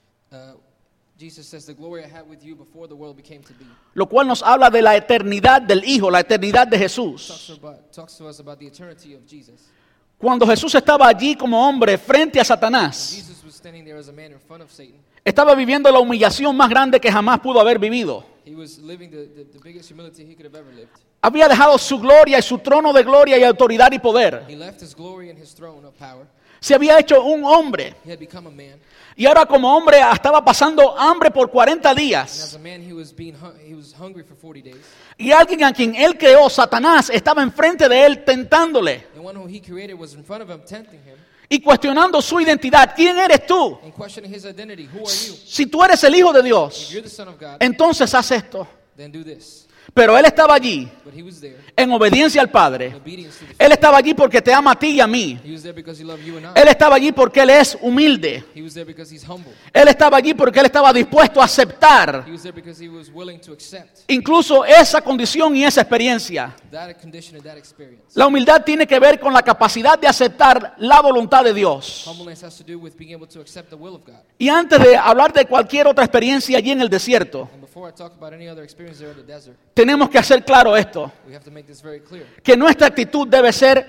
Jesus says, the glory I had with you before the world became to be. Lo cual nos habla de la eternidad del Hijo, la eternidad de Jesús. Talks to us about the eternity of Jesus. Cuando Jesús estaba allí como hombre frente a Satanás, Jesus was standing there as a man in front of Satan. estaba viviendo la humillación más grande que jamás pudo haber vivido. He was living the biggest humility he could have ever lived. Había dejado su gloria y su trono de gloria y autoridad y poder. He left his glory and his throne of power. Se había hecho un hombre. He had become a man. Y ahora como hombre estaba pasando hambre por 40 And as días. a man, he was hungry for 40 days. Y alguien a quien él creó, Satanás, estaba enfrente de él tentándole The one who he created was in front of him, tempting him y cuestionando su identidad. ¿Quién eres tú? and questioning his identity. Who are you? Si tú eres el Hijo de If Dios, you're the Son of God, entonces haz esto. then do this. Pero él estaba allí But he was there en obediencia al in Padre. obedience to the Él estaba allí porque te ama a ti y a mí. He was there because he loved you and I. Él estaba allí porque él es humilde. He was there because he's humble. Él estaba allí porque él estaba dispuesto a aceptar He was there because he was willing to accept incluso esa condición y esa experiencia. that condition and that experience. La humildad tiene que ver con la capacidad de aceptar la voluntad de Dios. Humbleness has to do with being able to accept the will of God. Y antes de hablar de cualquier otra experiencia allí en el desierto, And before I talk about any other experience there in the desert, tenemos que hacer claro esto, we have to make this very clear. que nuestra actitud debe ser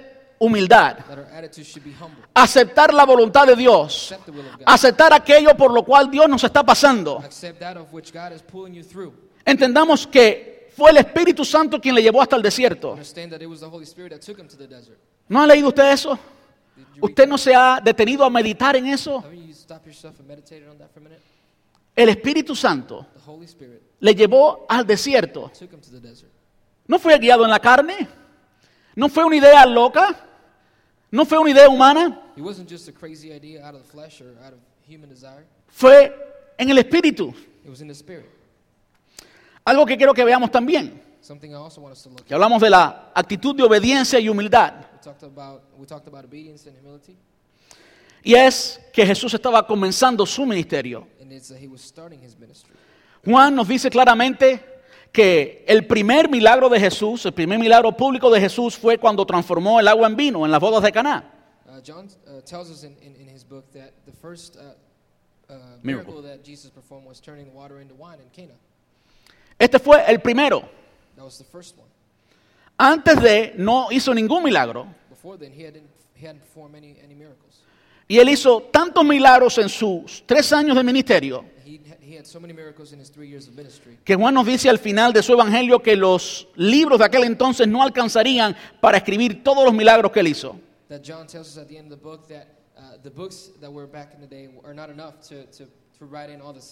humildad. that our attitude should be humble. Aceptar la voluntad de Dios. Accept the will of God. Aceptar aquello por lo cual Dios nos está pasando. Accept that of which God is pulling you through. Entendamos que fue el Espíritu Santo quien le llevó hasta el desierto. Understand that it was the Holy Spirit that took him to the desert. ¿No ha leído usted eso? Did you read ¿Usted no se ha detenido a meditar en eso? Haven't you stopped yourself and meditated on that for a minute? El Espíritu Santo The Holy Spirit le llevó al desierto. took him to the desert. ¿No fue guiado en la carne? ¿No fue una idea loca? ¿No fue una idea humana? It wasn't just a crazy idea out of the flesh or out of human desire. Fue en el Espíritu. It was in the Spirit. Algo que quiero que veamos también. Something I also want us to look Que at. hablamos de la actitud de obediencia y humildad. We talked about obedience and humility, Y es que Jesús estaba comenzando su ministerio. and it's that he was starting his ministry. Juan nos dice claramente que el primer milagro de Jesús, el primer milagro público de Jesús fue cuando transformó el agua en vino en las bodas de Caná. John tells us in his book that the first Miracle. miracle that Jesus performed was turning water into wine in Cana. Este fue el primero. That was the first one. Antes de, no hizo ningún milagro. Before then, he hadn't performed any miracles. Y él hizo tantos milagros en sus 3 años de ministerio He had so many miracles in his 3 years of ministry que Juan nos dice al final de su evangelio que los libros de aquel entonces no alcanzarían para escribir todos los milagros que él hizo. that John tells us at the end of the book that the books that were back in the day are not enough to write in all the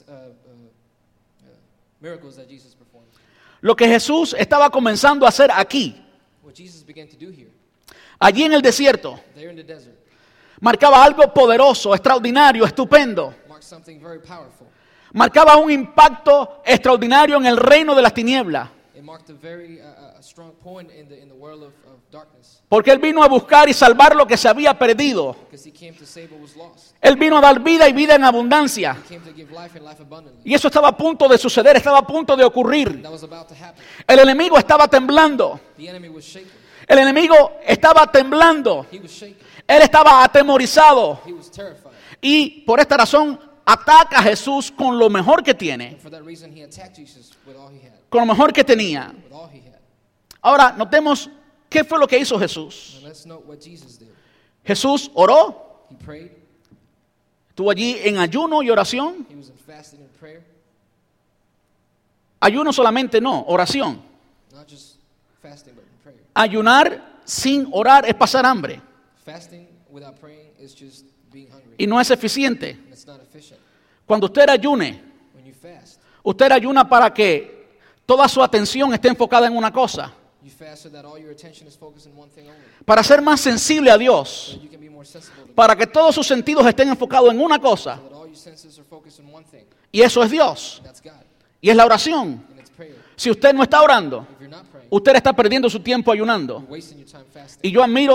miracles that Jesus performed. Lo que Jesús estaba comenzando a hacer aquí, What Jesus began to do here, allí en el desierto, there in the desert, marcaba algo poderoso, extraordinario, estupendo. marked something very powerful. Marcaba un impacto extraordinario en el reino de las tinieblas. It marked a very strong point in the world of darkness, Porque él vino a buscar y salvar lo que se había perdido. because he came to save what was lost. Él vino a dar vida y vida en abundancia. He came to give life and life abundantly. Y eso estaba a punto de suceder, estaba a punto de ocurrir. That was about to happen. El enemigo estaba temblando. The enemy was shaken. El enemigo estaba temblando. He was shaken. Él estaba atemorizado. He was terrified. Y por esta razón ataca a Jesús con lo mejor que tiene, And for that reason, he attacked Jesus with all he had. con lo mejor que tenía. With all he had. Ahora, notemos qué fue lo que hizo Jesús. Now let's note what Jesus did. Jesús oró, He prayed. estuvo allí en ayuno y oración. He was in fasting and prayer. Ayuno solamente no, oración. Not just fasting, but in prayer. Ayunar sin orar es pasar hambre Fasting without praying is just being hungry. y no es eficiente. And it's not efficient. Cuando usted ayune, When you fast, usted ayuna para que toda su atención esté enfocada en una cosa, you fast so that all your attention is focused on one thing only. para ser más sensible a Dios, So you can be more sensible to God. para que todos sus sentidos estén enfocados en una cosa, So that all your senses are focused on one thing. y eso es Dios, And that's God. y es la oración. And it's prayer. Si usted no está orando, If you're not praying, usted está perdiendo su tiempo ayunando. you're wasting your time fasting. Y yo admiro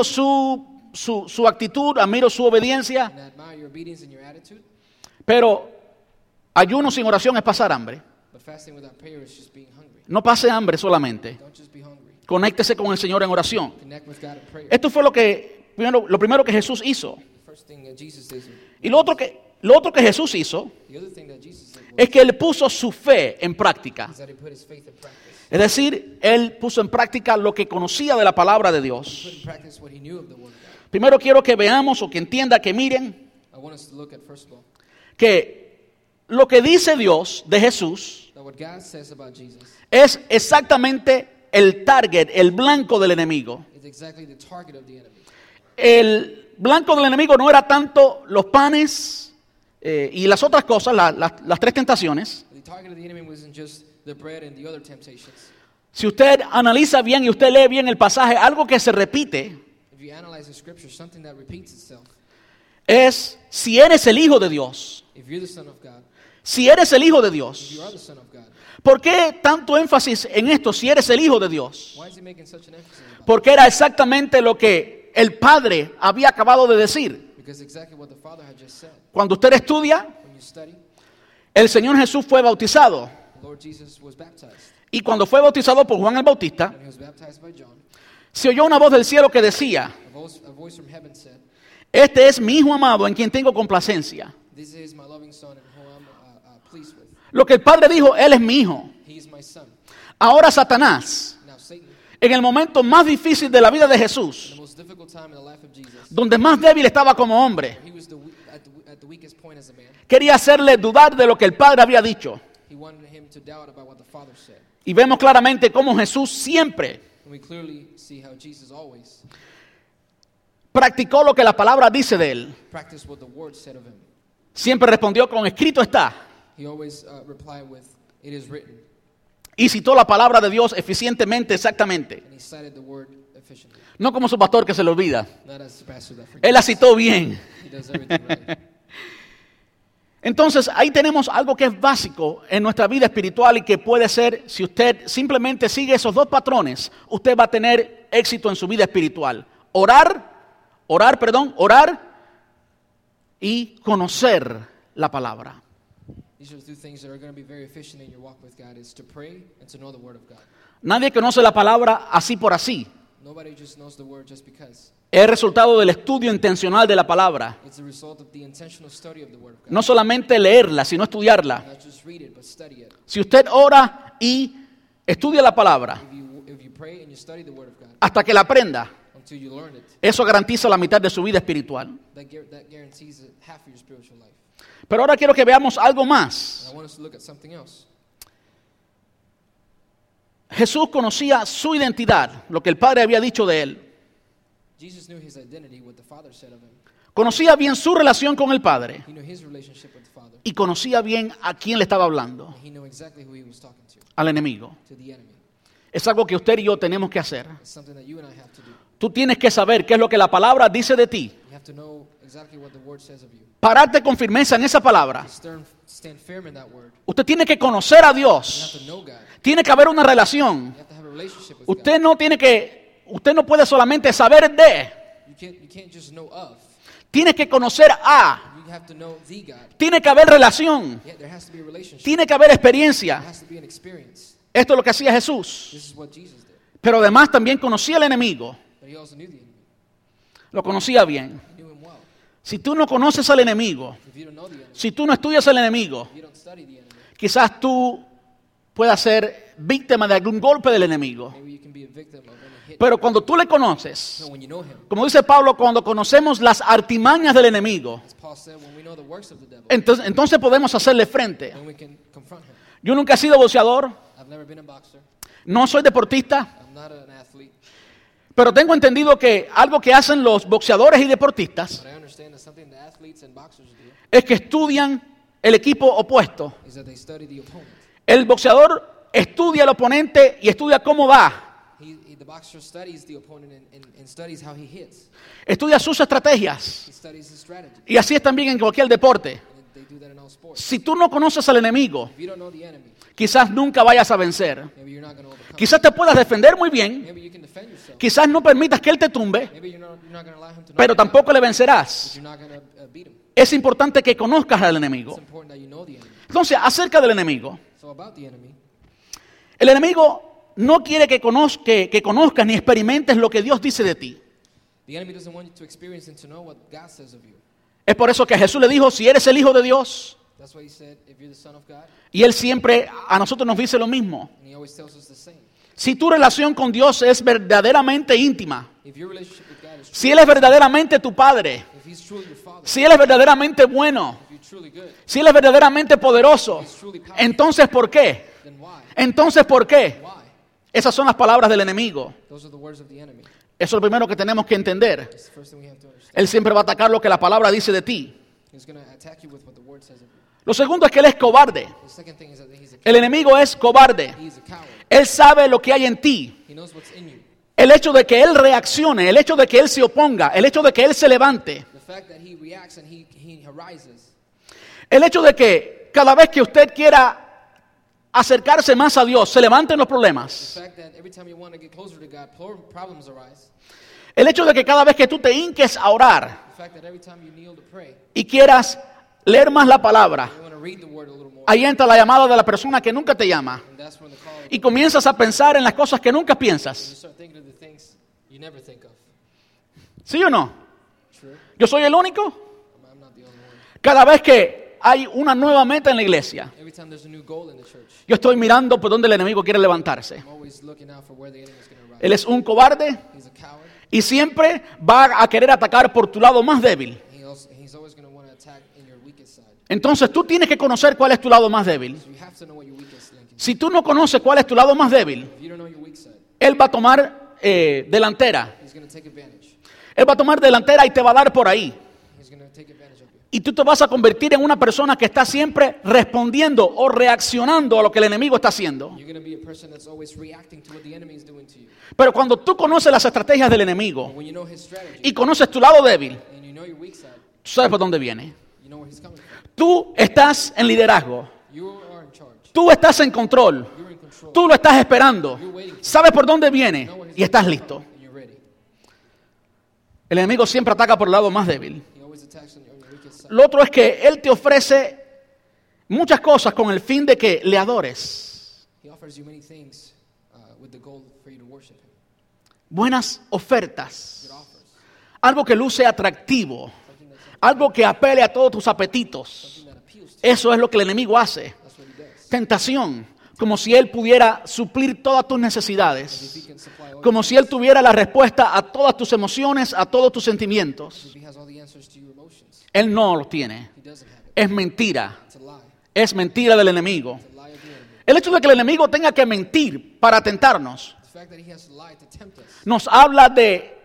su actitud, admiro su obediencia, And I admire your obedience and your attitude. pero ayuno sin oración es pasar hambre. But fasting without prayer is just being hungry. No pase hambre solamente. Don't just be hungry. Conéctese con el Señor en oración. Connect with God in prayer. Esto fue lo primero que Jesús hizo. The first thing that Jesus did. Y lo otro que Jesús hizo The other thing that Jesus did es que él puso su fe en práctica. is that he put his faith in practice. Es decir, él puso en práctica lo que conocía de la palabra de Put Dios. in practice what he knew of the word of God. Primero quiero que veamos o que entienda, que miren, I want us to look at, first of all, que lo que dice Dios de Jesús that what God says about Jesus es exactamente el target, el blanco del enemigo. is exactly the target of the enemy. El blanco del enemigo no era tanto los panes y las otras cosas, las 3 tentaciones. The target of the enemy wasn't just the bread and the other temptations. Si usted analiza bien y usted lee bien el pasaje, algo que se repite If you analyze the scripture, something that repeats itself. es: si eres el Hijo de Dios, If you're the Son of God, si eres el Hijo de if Dios. you are the Son of God, ¿Por qué tanto énfasis en esto, si eres el Hijo de Dios? why is he making such an emphasis about it? Porque era exactamente lo que el Padre había acabado de decir. Because exactly what the Father had just said. Cuando usted estudia, When you study, el Señor Jesús fue bautizado. the Lord Jesus was baptized. Y cuando fue bautizado por Juan el Bautista, When he was baptized by John, se oyó una voz del cielo que decía: a voice from heaven said, este es mi Hijo amado en quien tengo complacencia. "This is my loving Son in whom I'm pleased with. Lo que el Padre dijo: él es mi Hijo. He is my Son." Ahora Satanás, Now Satan, en el momento más difícil de la vida de in Jesús, the most most difficult time in the life of Jesus, donde más débil estaba como hombre, he was at the weakest point as a man. quería hacerle dudar de lo que el Padre había dicho. He wanted him to doubt about what the Father said. Y vemos claramente cómo Jesús siempre And we clearly see how Jesus always practicó lo que la palabra dice de él. practiced what the Word said of him. Siempre respondió con escrito está. He always replied with, "It is written," Y citó la palabra de Dios eficientemente, exactamente. and he cited the Word efficiently. No como su pastor que se le olvida. Not as the pastor that Él forgets. la citó bien. He does everything right. Entonces ahí tenemos algo que es básico en nuestra vida espiritual y que puede ser, si usted simplemente sigue esos dos patrones, usted va a tener éxito en su vida espiritual. Orar y conocer la palabra. These are the two things that are going to be very efficient in your walk with God: is to pray and to know the Word of God. Nadie conoce la palabra así por así. Nobody just knows the Word just because. Es el resultado del estudio intencional de la palabra. It's the result of the intentional study of the Word of God. No solamente leerla, sino estudiarla. Not just read it, but study it. Si usted ora y estudia la palabra If you pray and you study the Word of God hasta que la aprenda, until you learn it, eso garantiza la mitad de su vida espiritual. that guarantees half of your spiritual life. Pero ahora quiero que veamos algo más. And I want us to look at something else. Jesús conocía su identidad, lo que el Padre había dicho de él. Jesus knew his identity, what the Father said of him. Conocía bien su relación con el Padre He knew his relationship with the Father. y conocía bien a quién le estaba hablando, And he knew exactly who he was talking al enemigo. to the enemy. Es algo que usted y yo tenemos que hacer. It's something that you and I have to do. Tú tienes que saber qué es lo que la palabra dice de ti. You have to know exactly what the Word says of you. Pararte con firmeza en esa palabra. Stand firm in that Word. Usted tiene que conocer a You have Dios. to know God. Tiene que haber una relación. You have to have a relationship with Usted no puede solamente saber de. God. You can't just know of. Tiene que conocer a. You have to know the God. Tiene que haber relación. Yeah, there has to be a relationship. Tiene que haber experiencia. There has to be an experience. Esto es lo que hacía Jesús. This is what Jesus did. Pero además también conocía al enemigo. But he also knew the enemy. Lo conocía bien. He knew him well. Si tú no conoces al enemigo, If you don't know the enemy, si tú no estudias al enemigo, if you don't study the enemy, quizás tú puedas ser víctima de algún golpe del enemigo. maybe you can be a victim of any hit. Pero cuando tú le conoces, No, when you know him, como dice Pablo, cuando conocemos las artimañas del enemigo, as Paul said, when we know the works of the devil, entonces podemos hacerle frente. then we can confront him. Yo nunca he sido boxeador, I've never been a boxer. no soy deportista, I'm not an athlete. pero tengo entendido que algo que hacen los boxeadores y deportistas But I understand that something that athletes and boxers do es que estudian el equipo opuesto. is that they study the opponent. El boxeador estudia al oponente y estudia cómo va, The boxer studies the opponent and studies how he hits. estudia sus estrategias. He studies his strategy. Y así es también en cualquier deporte. And they do that in all sports. Si tú no conoces al enemigo, If you don't know the enemy, quizás nunca vayas a vencer. maybe you're not going to overcome. Quizás te puedas defender muy bien, Maybe you can defend yourself. quizás no permitas que él te tumbe, Maybe you're not going to allow him to knock pero you down, tampoco le but vencerás. you're not going to beat him. Es importante que conozcas al It's enemigo. important that you know the enemy. Entonces, acerca del enemigo, So about the enemy, el enemigo no quiere que conozcas ni experimentes lo que Dios dice de ti. the enemy doesn't want you to experience and to know what God says of you. Es por eso que Jesús le dijo, si eres el Hijo de Dios, That's why he said, if you're the son of God, y Él siempre a nosotros nos dice lo mismo. and he always tells us the same. Si tu relación con Dios es verdaderamente íntima, If your relationship with God is true, si Él es verdaderamente tu Padre, if he's truly your father, si Él es verdaderamente bueno, if you're truly good, si Él es verdaderamente poderoso, entonces ¿por qué? then why? Entonces ¿por qué? Why? Esas son las palabras del enemigo. Those are the words of the enemy. Eso es lo primero que tenemos que entender. It's the first thing we have to understand. Él siempre va a atacar lo que la palabra dice de ti. He's going to attack you with what the word says of you. Lo segundo es que Él es cobarde. The second thing is that he's a El enemigo es cobarde. he's a coward. Él sabe lo que hay en ti. He knows what's in you. El hecho de que Él reaccione, el hecho de que Él se oponga, el hecho de que Él se levante, The fact that he reacts and he arises. el hecho de que cada vez que usted quiera acercarse más a Dios, se levanten los The problemas. fact that every time you want to get closer to God, problems arise. El hecho de que cada vez que tú te hinques a orar The fact that every time you kneel to pray, y quieras leer más la palabra, you want to read the word a little more. ahí entra la llamada de la persona que nunca te llama. And that's when the call Y comienzas a pensar en las cosas que nunca you piensas. start thinking of the things you never think of. ¿Sí o no? True? ¿Yo soy el único? I'm not the only one. Cada vez que hay una nueva meta en la iglesia, Every time there's a new goal in the church, yo estoy mirando por dónde el enemigo quiere levantarse. I'm always looking out for where the enemy is going to rise. Él es un cobarde He's a coward. Y siempre va a querer atacar por tu lado más débil. He's always going to want to attack in your weakest side. Entonces tú tienes que conocer cuál es tu lado más débil. So you have to know what your weakest link is. Si tú no conoces cuál es tu lado más débil, If you don't know your weak side, él va a tomar delantera. he's going to take advantage. Él va a tomar delantera y te va a dar por ahí. He's going to take advantage of you. Y tú te vas a convertir en una persona que está siempre respondiendo o reaccionando a lo que el enemigo está haciendo. You're going to be a person that's always reacting to what the enemy is doing to you. Pero cuando tú conoces las estrategias del enemigo When you know his strategy y conoces tu lado débil, and you know your weak side, tú sabes por dónde viene. you know where he's coming from. Tú estás en liderazgo. You are in charge. Tú estás en control. You're in control. Tú lo estás esperando. Sabes por dónde viene y estás listo. And you're ready. El enemigo siempre ataca por el lado más débil. He always attacks on your weakest side. Lo otro es que él te ofrece muchas cosas con el fin de que le adores. He offers you many things with the goal for you to worship him. Buenas ofertas. Good offers. Algo que luce atractivo. Algo que apele a todos tus apetitos. Something that appeals to Eso es lo que el enemigo hace. you. That's what he does. Tentación. Como si él pudiera suplir todas tus If necesidades. he can supply all Como si él tuviera la respuesta a todas tus emociones, a todos tus sentimientos. if he has all the answers to your emotions. Él no lo tiene. He doesn't have it. Es mentira. It's a lie. Es mentira del enemigo. It's a lie of the enemy. El hecho de que el enemigo tenga que mentir para tentarnos The fact that he has to lie to tempt us nos habla de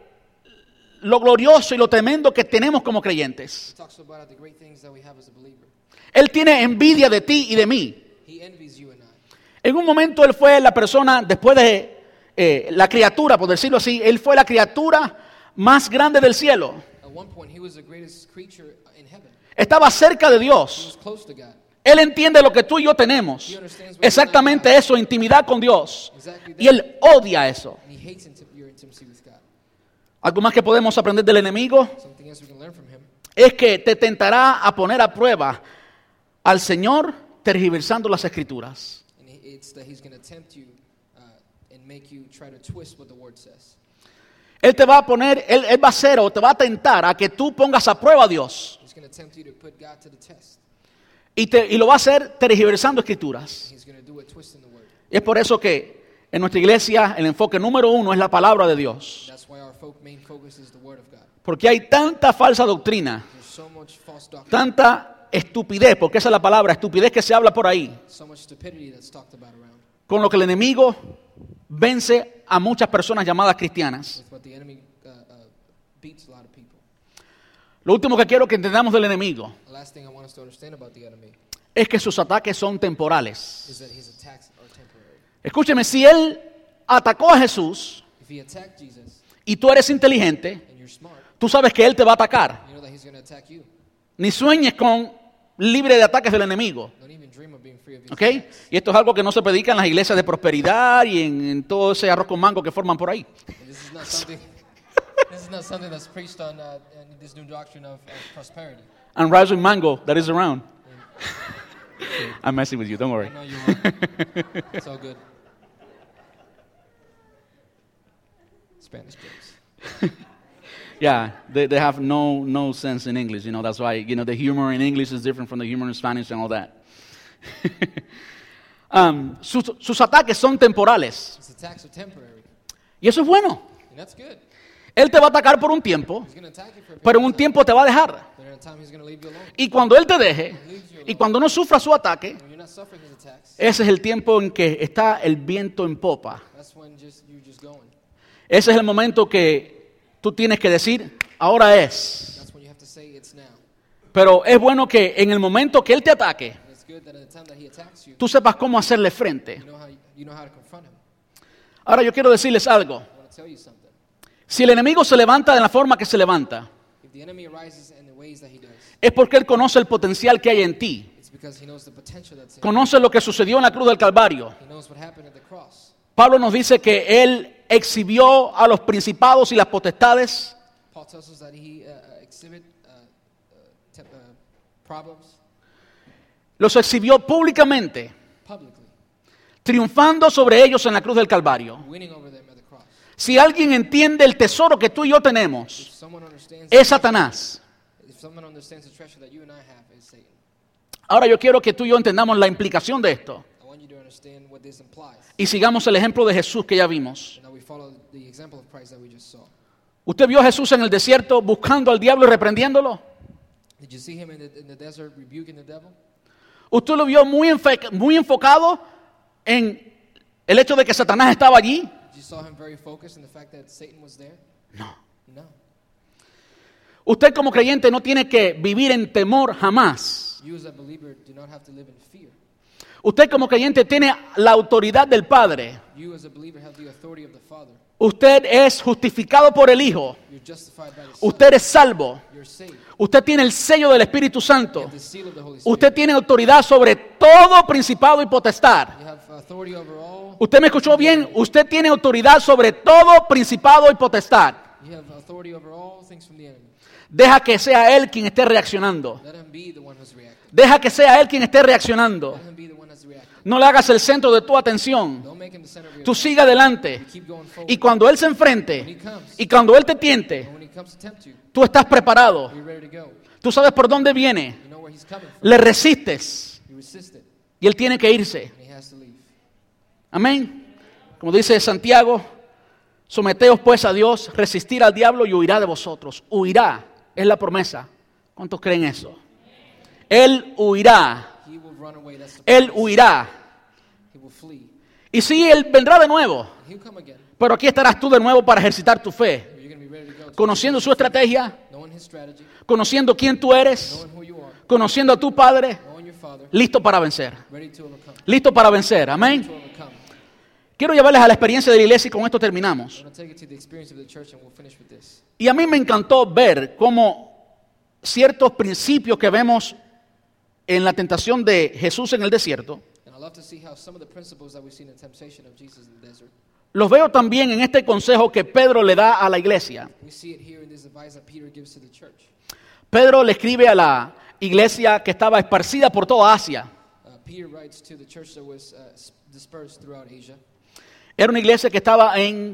lo glorioso y lo tremendo que tenemos como creyentes. talks about the great things that we have as a believer. Él tiene envidia de ti y de mí. He envies you and I. En un momento él fue la persona, después de la criatura, por decirlo así, él fue la criatura más grande del cielo. At one point, he was the greatest creature in heaven. Estaba cerca de He Dios. was close to God. Él entiende lo que tú y yo tenemos. Exactamente eso, intimidad con Dios. Y él odia eso. And he hates your intimacy with God. Algo más que podemos aprender del enemigo Something else we can learn from him es que te tentará a poner a prueba al Señor tergiversando las escrituras. and it's that he's going to tempt you and make you try to twist what the word says. Él te va a poner, él va a hacer o te va a tentar a que tú pongas a prueba a Dios. He's going to tempt you to put God to the test. Y lo va a hacer tergiversando escrituras. He's going to do it twisting the word. Y es por eso que en nuestra iglesia el enfoque número uno es la palabra de Dios. That's why our main focus is the word of God. Porque hay tanta falsa doctrina, There's so much false doctrine, tanta estupidez, porque esa es la palabra, estupidez que se habla por ahí, so much stupidity that's talked about around. con lo que el enemigo vence a muchas personas llamadas cristianas. With what the enemy beats a lot of people. Lo último que quiero que entendamos del enemigo The last thing I want us to understand about the enemy es que sus ataques son temporales. is that his attacks are temporary. Escúcheme, si él atacó a Jesús If he attacked Jesus y tú eres inteligente, and you're smart, tú sabes que él te va a atacar. you know that he's going to attack you. Ni sueñes con libre de ataques del enemigo. Don't even dream of being free of his ¿Ok? attacks. Y esto es algo que no se predica en las iglesias de prosperidad y en todo ese arroz con mango que forman por ahí. And this is not something. This is not something that's preached on in this new doctrine of prosperity. And rice with mango that is around. I'm messing with you, don't I worry. know you are. It's all good. Spanish jokes. Yeah, they have no sense in English, you know, that's why, you know, the humor in English is different from the humor in Spanish and all that. Sus ataques son temporales. His attacks are temporary, Y eso es bueno. and that's good. Él te va a atacar por un tiempo, He's going to attack you for a pero period en un of time, tiempo te va a dejar. but in a time he's going to leave you alone. Y cuando Él te deje, y cuando no sufra su ataque, When you're not suffering his attacks, ese es el tiempo en que está el viento en popa. that's when you're just going. Ese es el momento que tú tienes que decir, ahora es. That's when you have to say it's now. Pero es bueno que en el momento que Él te ataque, And it's good that in the time that he attacks you, tú sepas cómo hacerle frente. you know how to confront him. Ahora yo quiero decirles algo. I want to tell you something. Si el enemigo se levanta de la forma que se levanta, If the enemy arises in the ways that he does, es porque Él conoce el potencial que hay en ti. it's because he knows the potential that's in you. Conoce lo que sucedió en la cruz del Calvario. He knows what happened at the cross. Pablo nos dice que Él exhibió a los principados y las potestades Paul tells us that he exhibit problems los exhibió públicamente, publicly, triunfando sobre ellos en la cruz del Calvario. winning over them at the cross. Si alguien entiende el tesoro que tú y yo tenemos, If someone understands, es Satanás. if someone understands the treasure that you and I have, is Satan. Ahora yo quiero que tú y yo entendamos la implicación de esto I want you to understand what this implies, y sigamos el ejemplo de Jesús que ya vimos. and that we follow the example of Christ that we just saw. ¿Usted vio a Jesús en el desierto buscando al diablo y reprendiéndolo? Did you see him in the desert rebuking the devil? ¿Usted lo vio muy enfocado en el hecho de que Satanás estaba allí? Did you saw him very focused on the fact that Satan was there? No. No. Usted como creyente no tiene que vivir en temor jamás. You as a believer do not have to live in fear. Usted como creyente tiene la autoridad del Padre. You as a believer have the authority of the Father. Usted es justificado por el Hijo. You're justified by the Son. Usted es salvo. You're saved. Usted tiene el sello del Espíritu You Santo. have the seal of the Holy Spirit. Usted tiene autoridad sobre todo principado y potestad. You have authority over all. ¿Usted me escuchó bien? Usted tiene autoridad sobre todo principado y potestad. You have authority over all things from the enemy. Deja que sea Él quien esté reaccionando. Let him be the one who's reacting. Deja que sea Él quien esté reaccionando. Let him be the one that's reacting. No le hagas el centro de tu atención. Don't make him the center of your Tú attention. sigue adelante. You keep going forward. Y cuando Él se enfrente, y cuando Él te tiente, And when he comes to tempt you, tú estás preparado. you're ready to go. Tú sabes por dónde viene. You know where he's coming from. Le resistes. You resist it, Y Él tiene que irse. and he has to leave. Amén. Como dice Santiago, someteos pues a Dios, resistir al diablo y huirá de vosotros. Huirá, es la promesa. ¿Cuántos creen eso? Él huirá. He will run away. That's the Él promise. huirá. He will flee. Y sí, Él vendrá de nuevo. He'll come again. Pero aquí estarás tú de nuevo para ejercitar tu fe. You're going to be ready to go. Conociendo su estrategia, Knowing his strategy, conociendo quién tú eres, knowing who you are, conociendo a tu Padre, knowing your Father, listo para vencer. ready to overcome. Listo para vencer. To Amén. overcome. Quiero llevarles a la experiencia de la iglesia y con esto terminamos. I'm going to take it to the experience of the church, and we'll finish with this. Y a mí me encantó ver cómo ciertos principios que vemos en la tentación de Jesús en el desierto, And I love to see how some of the principles that we see in the temptation of Jesus in the desert, los veo también en este consejo que Pedro le da a la iglesia. we see it here in this advice that Peter gives to the church. Pedro le escribe a la iglesia que estaba esparcida por toda Asia. Peter writes to the church that was dispersed throughout Asia. Era una iglesia que estaba en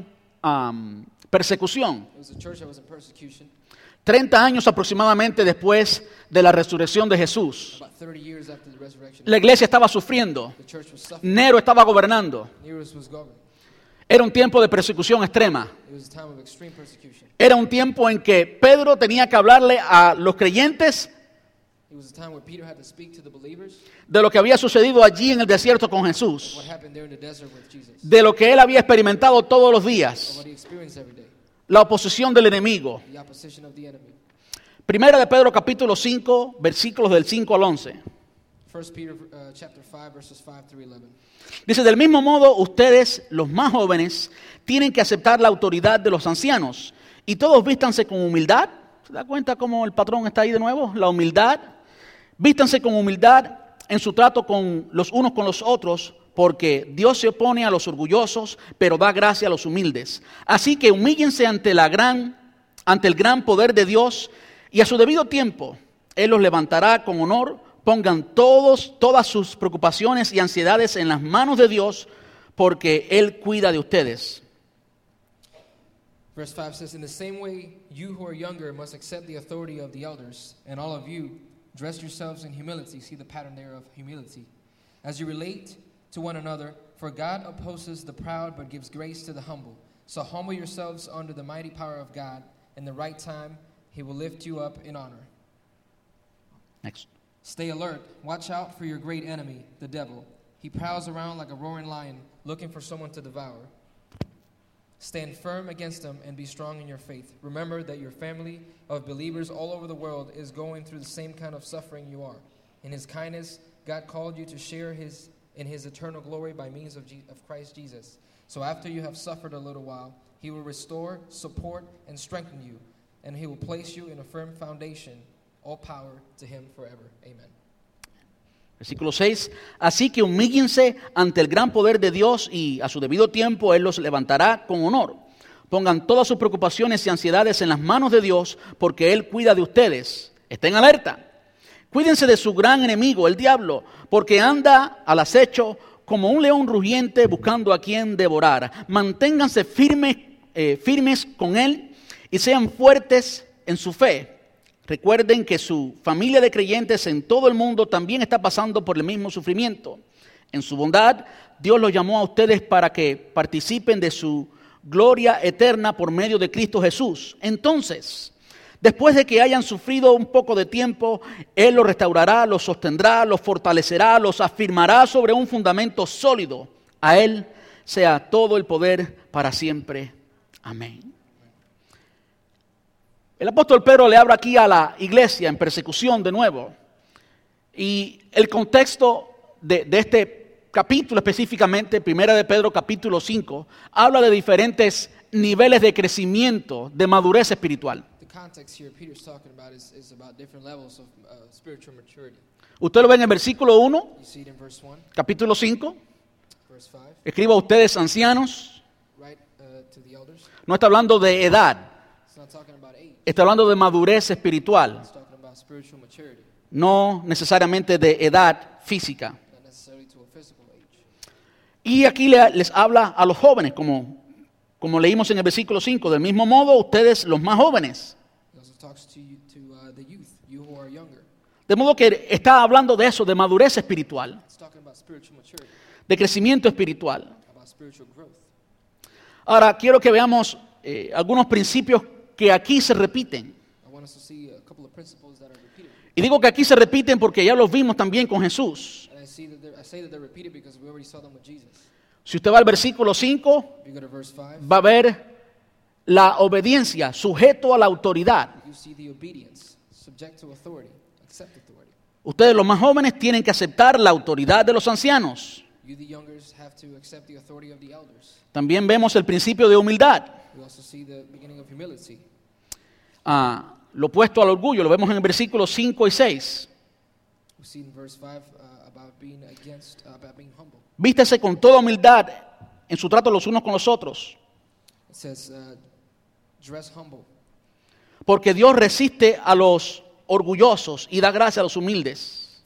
persecución. It was a church that was in persecution. 30 años aproximadamente después de la resurrección de Jesús. About 30 years after the resurrection, La iglesia estaba sufriendo. the church was suffering. Nero estaba gobernando. Nero was governing. Era un tiempo de persecución extrema. It was a time of extreme persecution. Era un tiempo en que Pedro tenía que hablarle a los creyentes It was a time where Peter had to speak to the believers de lo que había sucedido allí en el desierto con Jesús, what happened there in the desert with Jesus, de lo que él había experimentado todos los of días, what he experienced every day, la oposición del enemigo. the opposition of the enemy. Primera de Pedro capítulo 5, versículos del 5 al 11. 1 Peter chapter 5 verses 5 through 11. Dice, del mismo modo, ustedes, los más jóvenes, tienen que aceptar la autoridad de los ancianos y todos vístanse con humildad. ¿Se da cuenta cómo el patrón está ahí de nuevo? La humildad. Vístanse con humildad en su trato con los unos con los otros, porque Dios se opone a los orgullosos, pero da gracia a los humildes. Así que humíllense ante el gran poder de Dios, y a su debido tiempo Él los levantará con honor. Pongan todas sus preocupaciones y ansiedades en las manos de Dios, porque Él cuida de ustedes. Verse 5 says, in the same way, you who are younger must accept the authority of the elders, and all of you dress yourselves in humility. See the pattern there of humility. As you relate to one another, for God opposes the proud but gives grace to the humble. So humble yourselves under the mighty power of God. In the right time, He will lift you up in honor. Next. Stay alert. Watch out for your great enemy, the devil. He prowls around like a roaring lion, looking for someone to devour. Stand firm against him and be strong in your faith. Remember that your family of believers all over the world is going through the same kind of suffering you are. In His kindness, God called you to share in His eternal glory by means of Christ Jesus. So after you have suffered a little while, He will restore, support, and strengthen you, and He will place you in a firm foundation. All power to Him forever. Amen. Versículo 6. Así que humíllense ante el gran poder de Dios y a su debido tiempo Él los levantará con honor. Pongan todas sus preocupaciones y ansiedades en las manos de Dios, porque Él cuida de ustedes. Estén alerta. Cuídense de su gran enemigo, el diablo, porque anda al acecho como un león rugiente buscando a quien devorar. Manténganse firmes con Él y sean fuertes en su fe. Recuerden que su familia de creyentes en todo el mundo también está pasando por el mismo sufrimiento. En su bondad, Dios los llamó a ustedes para que participen de su gloria eterna por medio de Cristo Jesús. Entonces, después de que hayan sufrido un poco de tiempo, Él los restaurará, los sostendrá, los fortalecerá, los afirmará sobre un fundamento sólido. A Él sea todo el poder para siempre. Amén. El apóstol Pedro le habla aquí a la iglesia en persecución de nuevo. Y el contexto de este capítulo específicamente, Primera de Pedro capítulo 5, habla de diferentes niveles de crecimiento, de madurez espiritual. Usted lo ve en el versículo 1, capítulo 5. Escriba a ustedes ancianos. No está hablando de edad. Está hablando de madurez espiritual. No necesariamente de edad física. Y aquí les habla a los jóvenes, como leímos en el versículo 5. Del mismo modo, ustedes los más jóvenes. De modo que está hablando de eso, de madurez espiritual, de crecimiento espiritual. Ahora, quiero que veamos algunos principios que aquí se repiten. Y digo que aquí se repiten porque ya los vimos también con Jesús. Si usted va al versículo 5, va a ver la obediencia, sujeto a la autoridad. Ustedes los más jóvenes tienen que aceptar la autoridad de los ancianos. También vemos el principio de humildad. Lo opuesto al orgullo, lo vemos en el versículo 5 y 6. Vístese con toda humildad en su trato los unos con los otros. Porque Dios resiste a los orgullosos y da gracia a los humildes.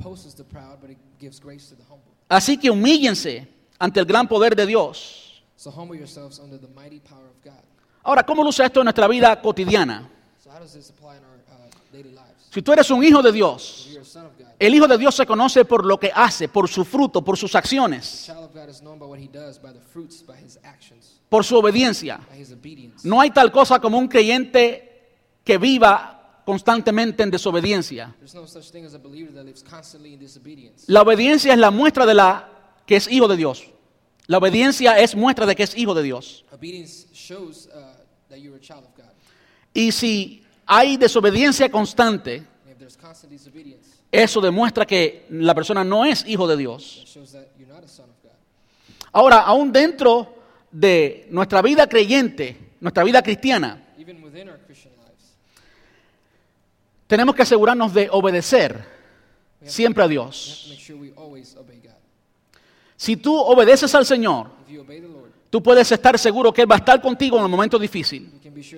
Así que humíllense ante el gran poder de Dios. Ahora, ¿cómo luce esto en nuestra vida cotidiana? Si tú eres un hijo de Dios, el hijo de Dios se conoce por lo que hace, por su fruto, por sus acciones, por su obediencia. No hay tal cosa como un creyente que viva constantemente en desobediencia. La obediencia es la muestra de que es hijo de Dios. La obediencia es muestra de que es hijo de Dios. Y si hay desobediencia constante, eso demuestra que la persona no es hijo de Dios. Ahora, aún dentro de nuestra vida creyente, nuestra vida cristiana, tenemos que asegurarnos de obedecer siempre a Dios. Si tú obedeces al Señor, tú puedes estar seguro que Él va a estar contigo en el momento difícil.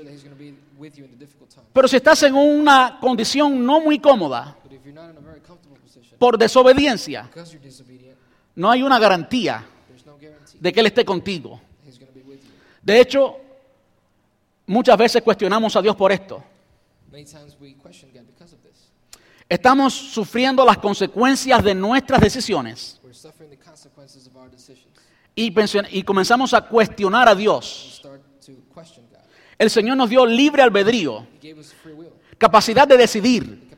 Pero si estás en una condición no muy cómoda, por desobediencia, no hay una garantía de que Él esté contigo. De hecho, muchas veces cuestionamos a Dios por esto. Estamos sufriendo las consecuencias de nuestras decisiones. Y comenzamos a cuestionar a Dios. El Señor nos dio libre albedrío, capacidad de decidir.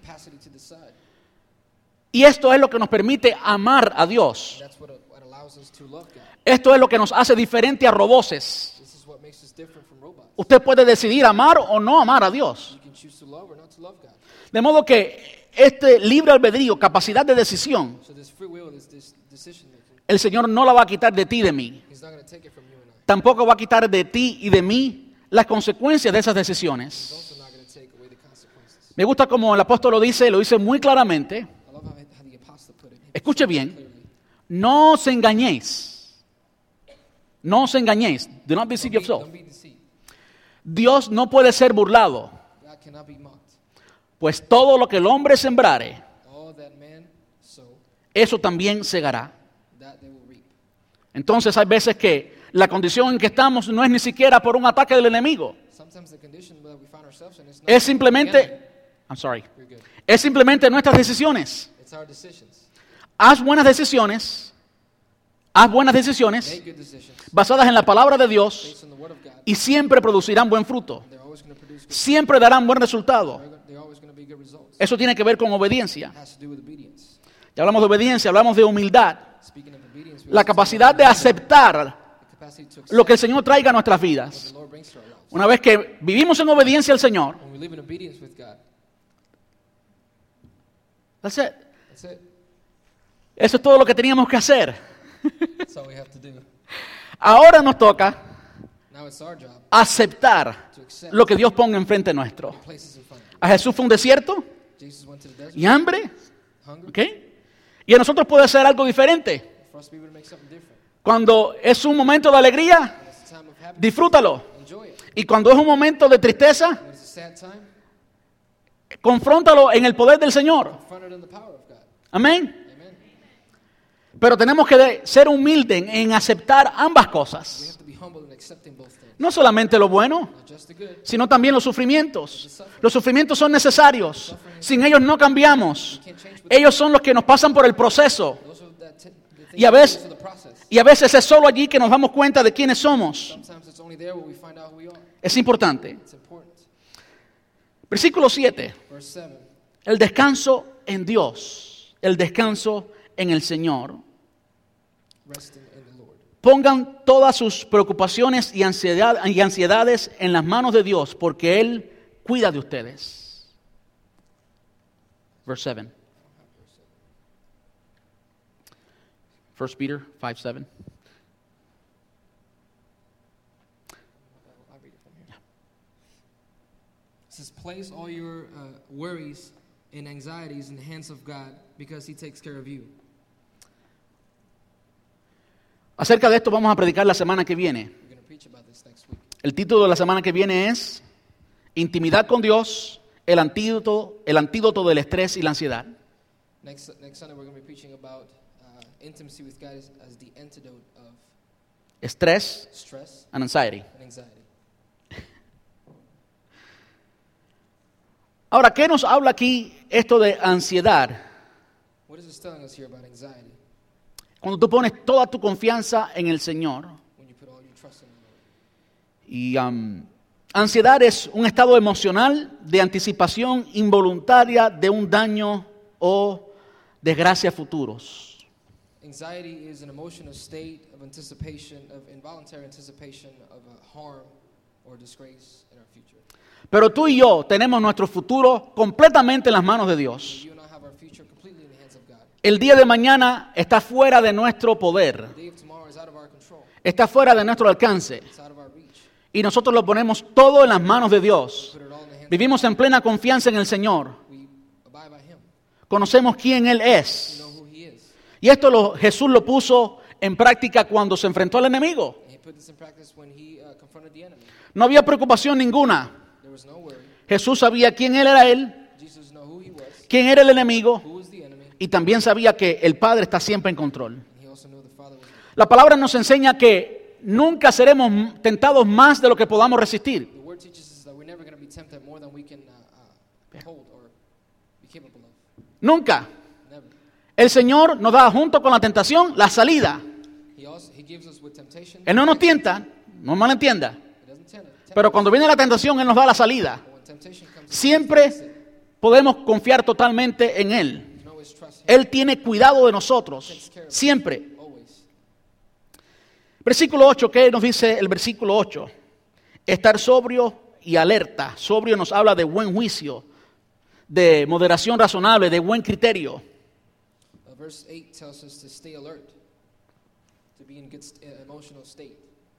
Y esto es lo que nos permite amar a Dios. Esto es lo que nos hace diferente a roboces. Usted puede decidir amar o no amar a Dios. De modo que este libre albedrío, capacidad de decisión, el Señor no la va a quitar de ti y de mí. Tampoco va a quitar de ti y de mí las consecuencias de esas decisiones. Me gusta como el apóstol lo dice muy claramente. Escuche bien, no os engañéis. No os engañéis. Do not deceive yourself. Dios no puede ser burlado. Pues todo lo que el hombre sembrare, eso también segará. Entonces hay veces que la condición en que estamos no es ni siquiera por un ataque del enemigo. Es simplemente nuestras decisiones. Haz buenas decisiones Haz buenas decisiones make good decisions basadas en la palabra de Dios based on the Word of God. y siempre producirán buen fruto. They're always going to produce good. Siempre darán buen resultado. They're always going to be good results. Eso tiene que ver con obediencia. It has to do with obedience. Ya hablamos de obediencia, hablamos de humildad. Speaking of obedience, we La also talk capacidad about de aceptar the capacity to accept lo que el Señor traiga a nuestras what vidas. the Lord brings to our lives. Una vez que vivimos en obediencia al Señor, When we live in obedience with God, that's it. that's it. Eso es todo lo que teníamos que hacer. That's all we have to do. Ahora nos toca Now it's our job aceptar to accept lo que Dios ponga enfrente nuestro. what places in front of A Jesús fue un desierto you. Jesus went to the desert, y hambre, hungry. ¿ok? Y a nosotros puede ser algo diferente. For us to be able to make something different. Cuando es un momento de alegría, When it's a time of happiness, disfrútalo. enjoy it. Y cuando es un momento de tristeza, When it's a sad time, confróntalo en el poder del Señor. confront it in the power of God. Amén. Amen. Pero tenemos que ser humildes en aceptar ambas We cosas. have to be humble in accepting both things. No solamente lo bueno, Not just the good. sino también los sufrimientos. Los sufrimientos son necesarios. Sin ellos no cambiamos. Ellos son los que nos pasan por el proceso. Those are the things Y a that go veces, through the process. y a veces es solo allí que nos damos cuenta de quiénes somos. Sometimes it's only there where we find out who we are. Es importante. It's important. Versículo 7. Verse 7. El descanso en Dios. El descanso en el Señor. Resting in the Lord. Pongan todas sus preocupaciones y ansiedades en las manos de Dios, porque Él cuida de ustedes. Verse 7. 1 Peter 5:7. I'll read it from here. It says, place all your worries and anxieties in the hands of God because He takes care of you. Acerca de esto vamos a predicar la semana que viene. We're going to preach about this next week. El título de la semana que viene es Intimidad con Dios, el antídoto del estrés y la ansiedad. Next Sunday, we're going to be preaching about intimacy with God as the antidote of Estrés stress and anxiety. and anxiety. Ahora, ¿qué nos habla aquí esto de ansiedad? What is this telling us here about anxiety? Cuando tú pones toda tu confianza en el Señor. When you put all your trust in the Lord. Y ansiedad es un estado emocional de anticipación involuntaria de un daño o desgracia futuros. Anxiety is an emotional state of anticipation, of involuntary anticipation of a harm or disgrace in our future. Pero tú y yo tenemos nuestro futuro completamente en las manos de Dios. You and I have our future completely in the hands of God. El día de mañana está fuera de nuestro poder, The day of tomorrow is out of our control. está fuera de nuestro alcance. It's out of our reach. Y nosotros lo ponemos todo en las manos de Dios. Put it all in the hands Vivimos en plena confianza en el Señor. of God. We abide by Him. Conocemos quién Él We es. know who He is. Y esto Jesús lo puso en práctica cuando se enfrentó al enemigo. And He put this in practice when He confronted the enemy. No había preocupación ninguna. There was no worry. Jesús sabía quién Él era Él, Jesus knew who He was, quién era el enemigo, who was the enemy, y también sabía que el Padre está siempre en control. and He also knew the Father was there. La palabra nos enseña que nunca seremos tentados más de lo que podamos resistir. The Word teaches us that we're never going to be tempted more than we can hold or be capable of. Nunca. Never. El Señor nos da junto con la tentación la salida. He gives us with temptation. Él no nos tienta, no malentienda. He doesn't tempt Pero us. cuando viene la tentación, Él nos da la salida. But when temptation comes, Siempre podemos confiar totalmente en Él. you can always trust Him. Él tiene cuidado de nosotros. Siempre. Always. Versículo 8, ¿qué nos dice el versículo 8? Estar sobrio y alerta. Sobrio nos habla de buen juicio, de moderación razonable, de buen criterio. Verse 8 tells us to stay alert, to be in good emotional state.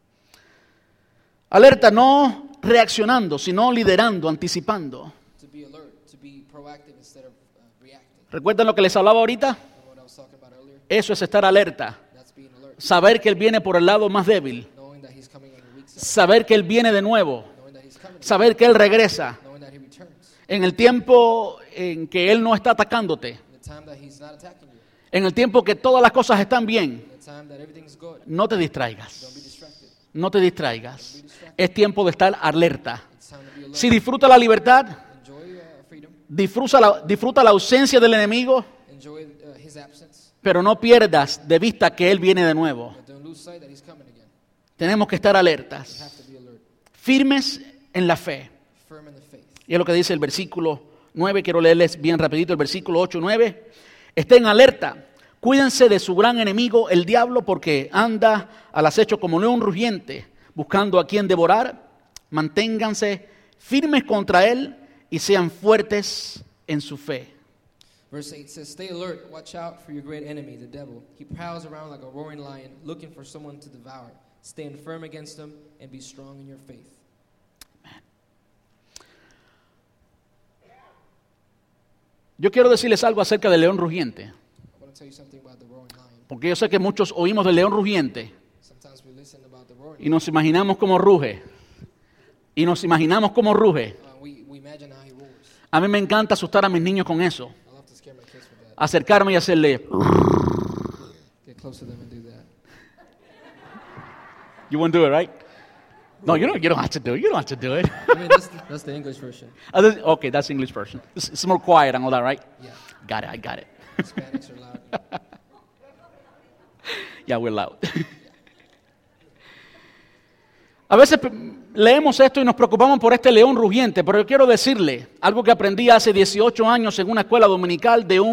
Alerta, no reaccionando, sino liderando, anticipando. To be alert, to be proactive instead of reacting. ¿Recuerdan lo que les hablaba ahorita? Remember what I was talking about earlier? Eso es estar alerta. That's being alert. Saber que Él viene por el lado más débil. Knowing that He's coming on your weak side. Saber que Él viene de nuevo. Knowing that He's coming. Saber que Él regresa. Knowing that He returns. En el tiempo en que Él no está atacándote. In the time that He's not attacking you. En el tiempo que todas las cosas están bien. In the time that everything's good. No te distraigas. Don't be distracted. No te distraigas. Es tiempo de estar alerta. It's time to be alert. Si disfruta la libertad, Enjoy freedom. disfruta la ausencia del enemigo, Enjoy His absence. Pero no pierdas de vista que Él viene de nuevo. But don't lose sight that He's coming again. Tenemos que estar We alertas, have to be alert, firmes en la fe. firm in the faith. Y es lo que dice el versículo 9. Quiero leerles bien rapidito el versículo 8 y 9. Estén alerta. Cuídense de su gran enemigo, el diablo, porque anda al acecho como león rugiente, buscando a quien devorar. Manténganse firmes contra él y sean fuertes en su fe. Verse 8 says, "Stay alert, watch out for your great enemy, the devil. He prowls around like a roaring lion, looking for someone to devour. Stand firm against him and be strong in your faith." Yo quiero decirles algo acerca del león rugiente, I want to tell you something about the roaring lion. porque yo sé que muchos oímos del león rugiente Sometimes we listen about the roaring y nos imaginamos cómo ruge. Y nos imaginamos cómo ruge. we imagine how he roars. A mí me encanta asustar a mis niños con eso. I love to scare my kids with that. Acercarme y hacerle, Get close to them and do that. you won't do it, right? No, you don't have to do it. You don't have to do it. I mean, that's the English version. Okay, that's the English version. It's more quiet and all that, right? Yeah. Got it, I got it. Hispanics are loud. Yeah, we're loud. A veces leemos esto y nos preocupamos por este león rugiente, pero yo quiero decirle algo que aprendí hace 18 años en una escuela dominical de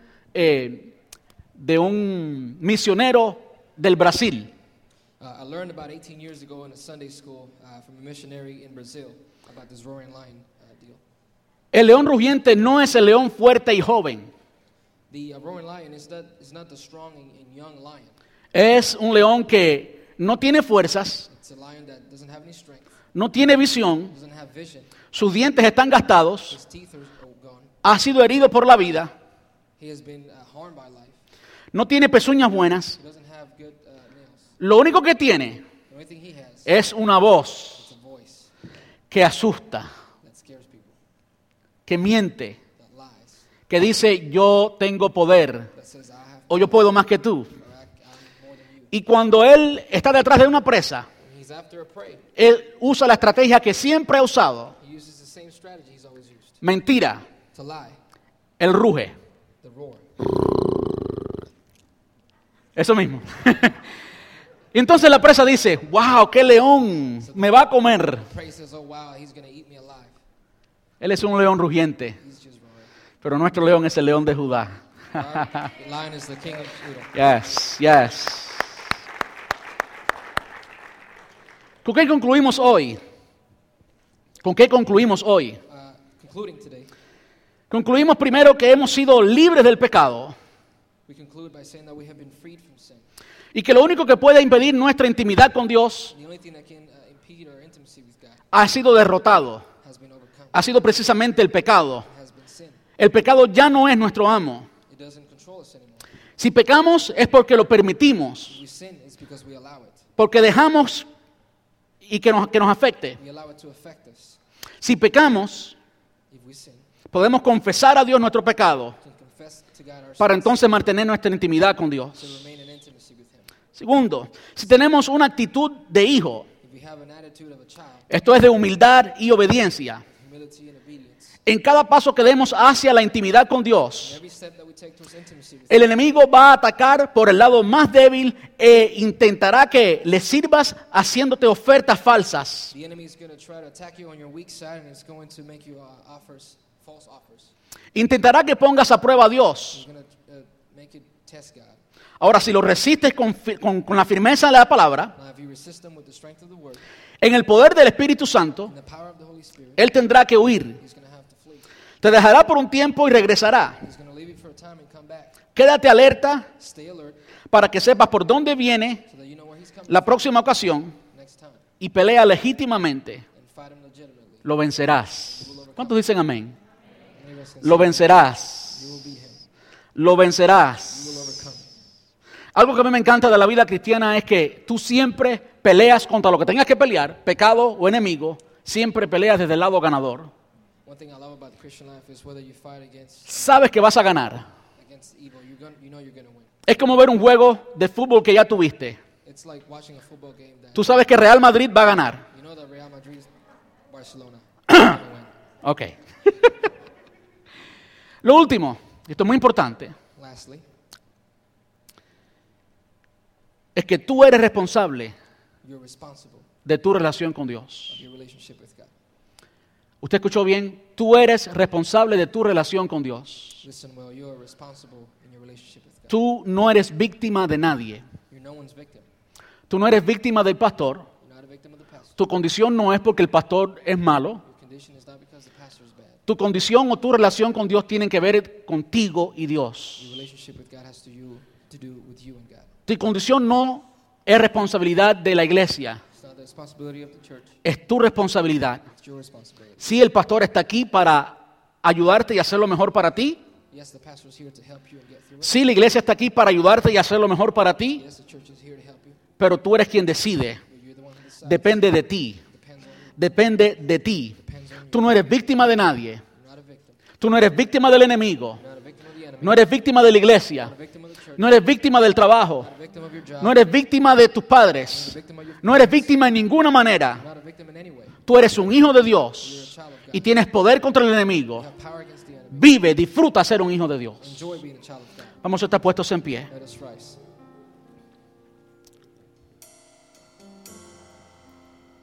un misionero del Brasil. I learned about 18 years ago in a Sunday school from a missionary in Brazil about this roaring lion deal. El león rugiente no es el león fuerte y joven. The roaring lion is not the strong and young lion. Es un león que no tiene fuerzas, It's a lion that doesn't have any strength, no tiene visión, doesn't have vision. sus dientes están gastados, His teeth are gone. ha sido herido por la vida, He has been harmed by life. no tiene pezuñas buenas. He doesn't have good nails. Lo único que tiene The only thing he has es una voz is a voice que asusta, that scares people, que miente, that lies, que dice yo tengo poder that says I have o yo puedo más que tú. or I'm more than you. Y cuando él está detrás de una presa, When he's after a prey, él usa la estrategia que siempre ha usado. he uses the same strategy he's always used. Mentira, To lie, él ruge. the roar. Eso mismo. Y entonces la presa dice, wow, qué león, me va a comer. Prey says, "Oh wow, he's going to eat me alive." Él es un león rugiente, He's just roaring. pero nuestro león es el león de Judá. The lion is the king of Judah. Yes, yes. ¿Con qué concluimos hoy? ¿Con qué concluimos hoy? Concluding today, Concluimos primero que hemos sido libres del pecado we conclude by saying that we have been freed from sin. y que lo único que puede impedir nuestra intimidad con Dios The only thing that can impede our intimacy with God ha sido derrotado. has been overcome. Ha sido precisamente el pecado. Has been sin. El pecado ya no es nuestro amo. It doesn't control us anymore. Si pecamos es porque lo permitimos, If we sin, it's because we allow it. porque dejamos y que nos afecte. We allow it to affect us. Si pecamos, If we sin, podemos confesar a Dios nuestro pecado we can confess to God our para sins entonces mantener nuestra intimidad con to Dios. remain in intimacy with Him. Segundo, si tenemos una actitud de hijo, If we have an attitude of a child, esto es de humildad y obediencia, humility and obedience, en cada paso que demos hacia la intimidad con in Dios, every step that we take towards intimacy with el enemigo va a atacar por el lado más débil e intentará que le sirvas haciéndote ofertas falsas. the enemy is going to try to attack you on your weak side, and it's going to make you false offers. Intentará que pongas a prueba a Dios. He's going to make you test God. Ahora, si lo resistes con la firmeza de la palabra, Now, if you resist him with the strength of the word en el poder del Espíritu Santo, and the power of the Holy Spirit, Él tendrá que huir. he's going to have to flee. Te dejará por un tiempo y regresará. He's going to leave you for a time and come back. Quédate alerta Stay alert para que sepas por dónde viene so that you know where he's coming la próxima ocasión next time y pelea legítimamente. and fight him legitimately. Lo vencerás. ¿Cuántos dicen amén? Many of us can Lo say, vencerás. you will beat him. Lo You will vencerás. overcome. Algo que a mí me encanta de la vida cristiana es que tú siempre peleas contra lo que tengas que pelear, pecado o enemigo, siempre peleas desde el lado ganador. One thing I love about the Christian life is whether you fight Sabes que vas a ganar. against evil, you know you're going to win. Es como ver un juego de fútbol que ya tuviste. It's like watching a football game that Tú sabes que Real Madrid va a ganar. you know that Real Madrid, Barcelona, is going to win. Ok. Lo último, y esto es muy importante, Lastly, es que tú eres responsable You're responsible de tu relación con Dios. of your relationship with God. ¿Usted escuchó bien? Tú eres responsable de tu relación con Dios. Listen well, you are responsible in your relationship with God. Tú no eres víctima de nadie. You're no one's victim. Tú no eres víctima del pastor. You're not a victim of the pastor. Tu condición no es porque el pastor es malo. Your condition is not because the pastor is bad. Tu condición o tu relación con Dios tienen que ver contigo y Dios. Your relationship with God has to do with you and God. Tu condición no es responsabilidad de la iglesia. It's not the responsibility of the church. Es tu responsabilidad. It's your responsibility. Si el pastor está aquí para ayudarte y hacer lo mejor para ti. Yes, the pastor is here to help you and get through it. Si la iglesia está aquí para ayudarte y hacer lo mejor para ti. Yes, the church is here to help you. Pero tú eres quien decide. But you're the one who decides. Depende de ti. Depends on you. Depende de ti. Depends on you. Tú no eres víctima de nadie. You're not a victim. Tú no eres víctima del enemigo. You're not a victim of the enemy. No eres víctima de la iglesia. Not a victim of the church. No eres víctima del trabajo. Not a victim of your job. No eres víctima de tus padres. Victim of your No eres víctima en ninguna manera. You're not a victim in any way. Tú eres un hijo de You're a Dios child of God. y tienes poder contra el enemigo. You have power against the enemy. Vive, disfruta ser un hijo de Dios. Enjoy being a child of God. Vamos a estar puestos en pie. Let us rise.